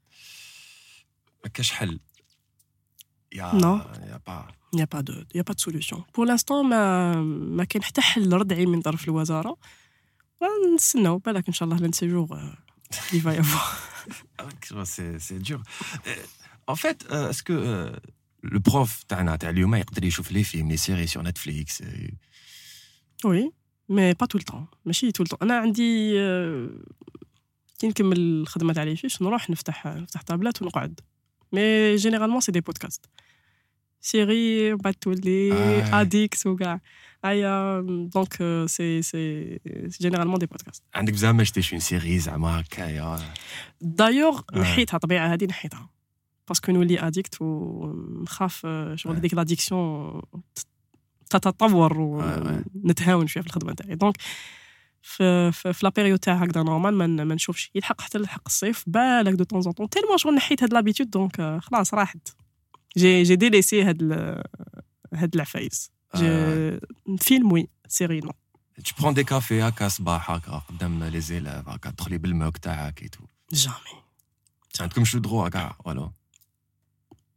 ما كاش حل يا با دو سوليوشن بور لانستون ما كاين حتى حل ردعي من طرف الوزاره ونستناو بالك ان شاء الله لان سيجور اللي فا يافوار سي دور en fait est-ce que le prof تاعنا تاع اليوم يقدر يشوف لي فيلم لي سيري سور نتفليكس وي مي با تو الطون ماشي تو الطون انا عندي كي نكمل الخدمه تاعي فيش نروح نفتح طابلات ونقعد مي جينيرالمون سي دي بودكاست سيري بعد تولي اديكس وكاع ايا دونك سي جينيرالمون دي بودكاست عندك زعما شتي اون سيري زعما هكايا دايوغ نحيتها طبيعه هذه نحيتها باسكو نولي اديكت ونخاف شغل هذيك لاديكسيون تتطور ونتهاون شويه في الخدمه تاعي دونك في لا بيريود تاع هكذا نورمال ما نشوفش يلحق حتى لحق الصيف بالك دو طون طون تيلمون شغل نحيت هاد لابيتود دونك خلاص راحت جي ديليسي هاد العفايس فيلم وي سيري نو tu prends des cafés هكا صباح هكا قدام لي زيلاف هكا تدخلي بالموك تاعك اي تو جامي عندكم شو دروا كاع والو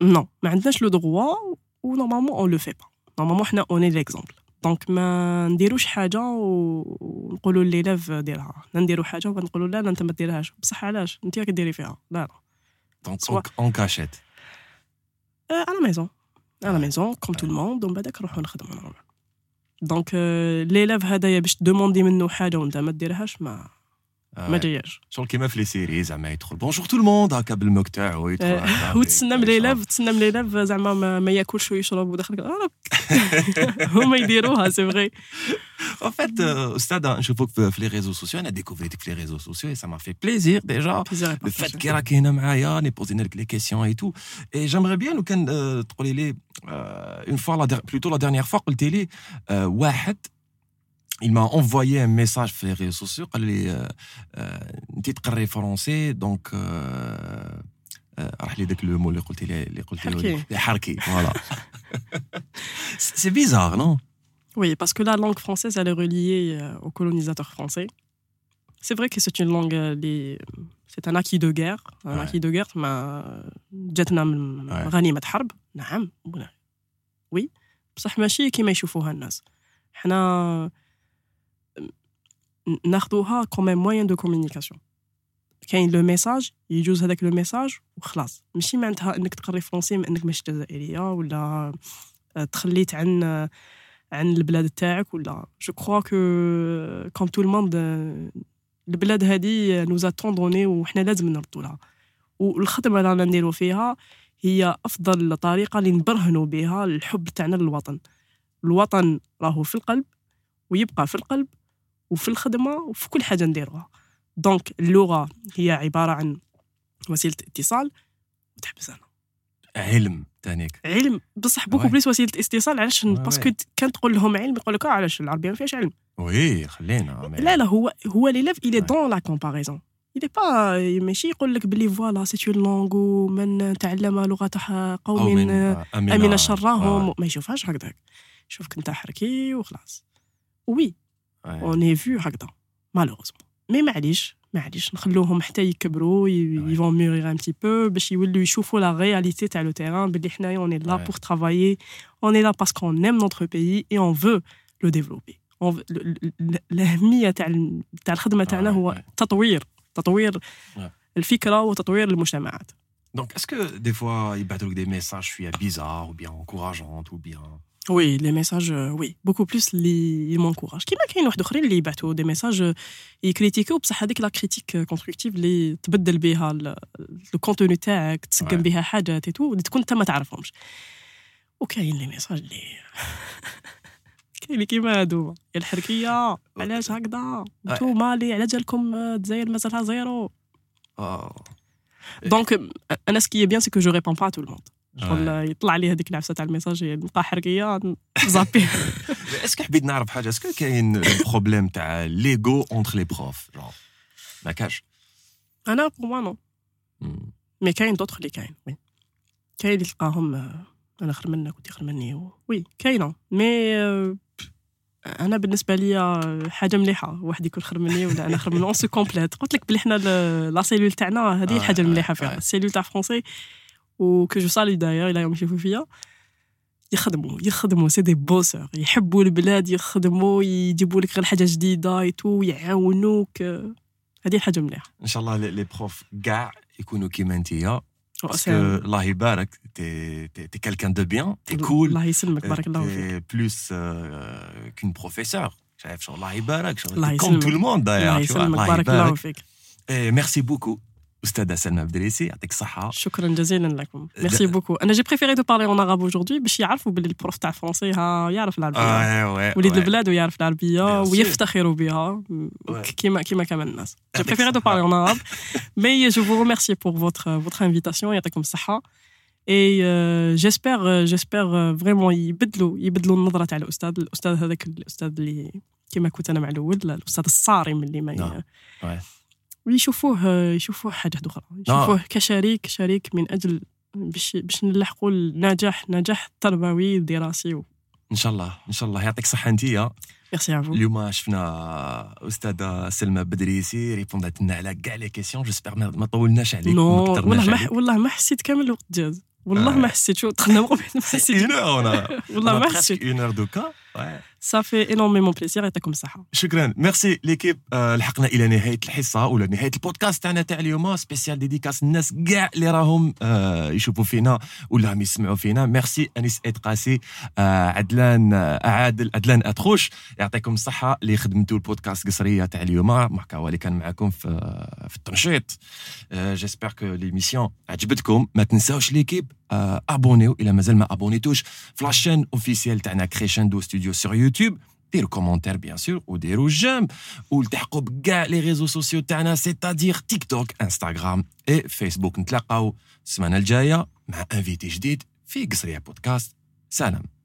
Non, ما عندناش لو droit و normalement on le fait pas. Normalement حنا on est l'exemple. Donc ما نديروش حاجه ونقولوا لليلاف ديرها، نديروا حاجه ونقولوا لا انت ما ديرهاش، بصح علاش انت راك ديري فيها؟ لا دونك اون كاشيت à la maison comme tout le monde ومن بعدك نروحوا نخدموا نورمال. دونك ليلاف هذايا باش دوموندي منه حاجه وانت ما ديرهاش ما جاياش شغل كيما في لي سيري زعما يدخل بونجور تو الموند هكا بالموك تاعو يدخل وتسنى من ليلاف زعما ما ياكلش ويشرب وداخل هما يديروها سي فري. En fait, Oustad, نشوفوك في les réseaux sociaux, on a découvert que les réseaux sociaux et ça m'a fait plaisir déjà. Le fait que راك هنا معايا, ني posé لك les questions et tout. Et j'aimerais bien لو كان تقولي لي une fois plutôt la dernière fois قلتي لي واحد il m'a envoyé un message sur les réseaux sociaux قال لي انت تقري فرونسي دونك راح لي داك لو مو اللي قلتي لي حركي فوالا. C'est bizarre, non? Oui, parce que la langue française, elle est reliée aux colonisateurs français. C'est vrai que c'est une langue, c'est un acquis de guerre. Un acquis de guerre, جاتنا من غنيمة حرب. نعم. Oui. بصح ماشي كيما يشوفوها الناس. حنا ناخذوها comme un moyen de communication. كاين لو ميساج يجوز هذاك لو ميساج وخلاص. ماشي معناتها انك تقري فرونسي انك ماشي جزائريه ولا تخليت عن البلاد تاعك ولا. جو كرو كو كوم تو الموند البلاد هذه نوزا طون دوني وحنا لازم نردوا لها. والخدمه اللي رانا نديروا فيها هي افضل طريقه اللي نبرهنوا بها الحب تاعنا للوطن. الوطن راهو في القلب ويبقى في القلب وفي الخدمه وفي كل حاجه نديروها. دونك اللغه هي عباره عن وسيله اتصال وتحبس انا علم تانيك علم بصح بوكو بليس وسيله اتصال. علاش؟ باسكو كان تقول لهم علم يقول لك علاش العربيه ما فيهاش علم. وي خلينا لا هو ليلاف il est dans la comparaison. il est pas ماشي يقول لك بلي فوالا سي اون لونغ ومن تعلم لغه قوم امن شرهم ما يشوفهاش هكذاك. شوفك انت حركي وخلاص. وي اون اي فيو هكذا مالوغوزمون. مي معليش نخلوهم حتى يكبروا يفون مورير ان بتي بو باش يولوا يشوفوا لا رياليتي تاع لو تيران بلي حنايا اون اي لا بور ترافايي اون اي لا باسكو ايم نوتر بيي اي اون فو لو ديفلوبي. الاهميه تاع الخدمه تاعنا هو تطوير الفكره وتطوير المجتمعات. دونك اسكو دي فوا يبعثوا لك دي ميساج شويه بيزار ou bien encourageant ou bien Oui, les messages, oui, beaucoup plus ils m'encouragent. كيما كاين واحد اخرين اللي يبعثوا دي ميساج يكريتيكو بصح هذيك لا كريتيك كونستركتيف اللي تبدل بها لو كونتوني تاعك تسقم بها حاجات اي تو اللي تكون انت ما تعرفهمش. وكاين لي ميساج اللي كاين كيما هادو يا الحركيه علاش هكذا انتو مالي على جالكم الجزائر مازالها زيرو. دونك انا سكي بيان سي كو جو ريبون با تو الموند. يطلع لي هذيك العفسه تاع الميساج نلقى حركيه زابي. اسكو حبيت نعرف حاجه اسكو كاين بروبليم تاع ليغو اونتر لي بروف ما كاش؟ انا بور موا نو مي كاين دوطخ اللي كاين وي كاين اللي تلقاهم انا خير منك وانت خير مني وي كاينه. مي انا بالنسبه لي حاجه مليحه واحد يكون خير مني ولا انا خير منه اون سو كومبليت. قلت لك بلي حنا لا سيلول تاعنا هذه الحاجه المليحه فيها السيلول تاع فرونسي وكو جو سالي داير الى يوم يشوفوا فيا يخدموا سي دي بوسور يحبوا البلاد يخدموا يجيبوا لك غير حاجه جديده يتو يعاونوك. هذه حاجه مليحه. ان شاء الله لي بروف كاع يكونوا كيما نتيا باسكو الله يبارك تي كالكان دو بيان تي كول الله يسلمك بارك الله فيك بلوس كون بروفيسور شايف شو الله يبارك شو كوم تو الموند داير الله يسلمك بارك الله فيك. ميرسي بوكو أستاذة سلمى بدريسي يعطيك الصحة. شكرا جزيلا لكم. ميرسي بوكو. أنا جي بريفيري دو بارلي أون أراب أوجوردي باش يعرفوا باللي البروف تاع فرونسي يعرف العربية وليد البلاد ويعرف العربية ويفتخروا بها كيما كمان الناس. جي بريفيري دو بارلي أون أراب مي جو فو ريميرسي بور فوتر انفيتاسيون يعطيكم الصحة. اي جيسبر فريمون يبدلوا النظرة تاع الأستاذ هذاك الأستاذ اللي كيما كنت أنا مع الأول الأستاذ الصارم اللي ما ويشوفوه حاجة أخرى يشوفوه كشريك من أجل باش نلحقوا النجاح التربوي والدراسي إن شاء الله يعطيك صحة أنتيا. ميرسي افو. اليوم شفنا أستاذة سلمى بدريسي ريبوندات لنا على كاع لي كيسيون. جيسبر ما طولناش عليك والله ما حسيت كامل الوقت جاز والله ما حسيت شو دخلنا مقبل ما حسيت 1 heure والله ما حسيت 1 heure دوكا. صافي انورميمون بليزير. يعطيكم الصحه. شكرا ميرسي ليكيب. لحقنا الى نهايه الحصه ولا نهايه البودكاست تاعنا تاع اليوم سبيسيال ديديكاس الناس كاع اللي راهم يشوفوا فينا ولا راهم يسمعوا فينا. ميرسي انيس ادقاسي، عدلان عادل، عدلان اتخوش، يعطيكم الصحه اللي خدمتوا البودكاست قصريه تاع اليوم. ماركا هو اللي كان معكم في التنشيط. جيسبر كو ليميسيون عجبتكم. ما تنساوش ليكيب ابونيو الى مازال ما ابونيتوش في لاشين اوفيسيال تاعنا كريشندو ستوديو سور يوتيوب. ديروا كومونتير بيان سور وديروا جيم والتحقوا بكاع لي ريزو سوسيو تاعنا سيتادير تيك توك انستغرام اي فيسبوك. نتلاقاو السمانه الجايه مع انفيتي جديد في قصريه بودكاست. سلام.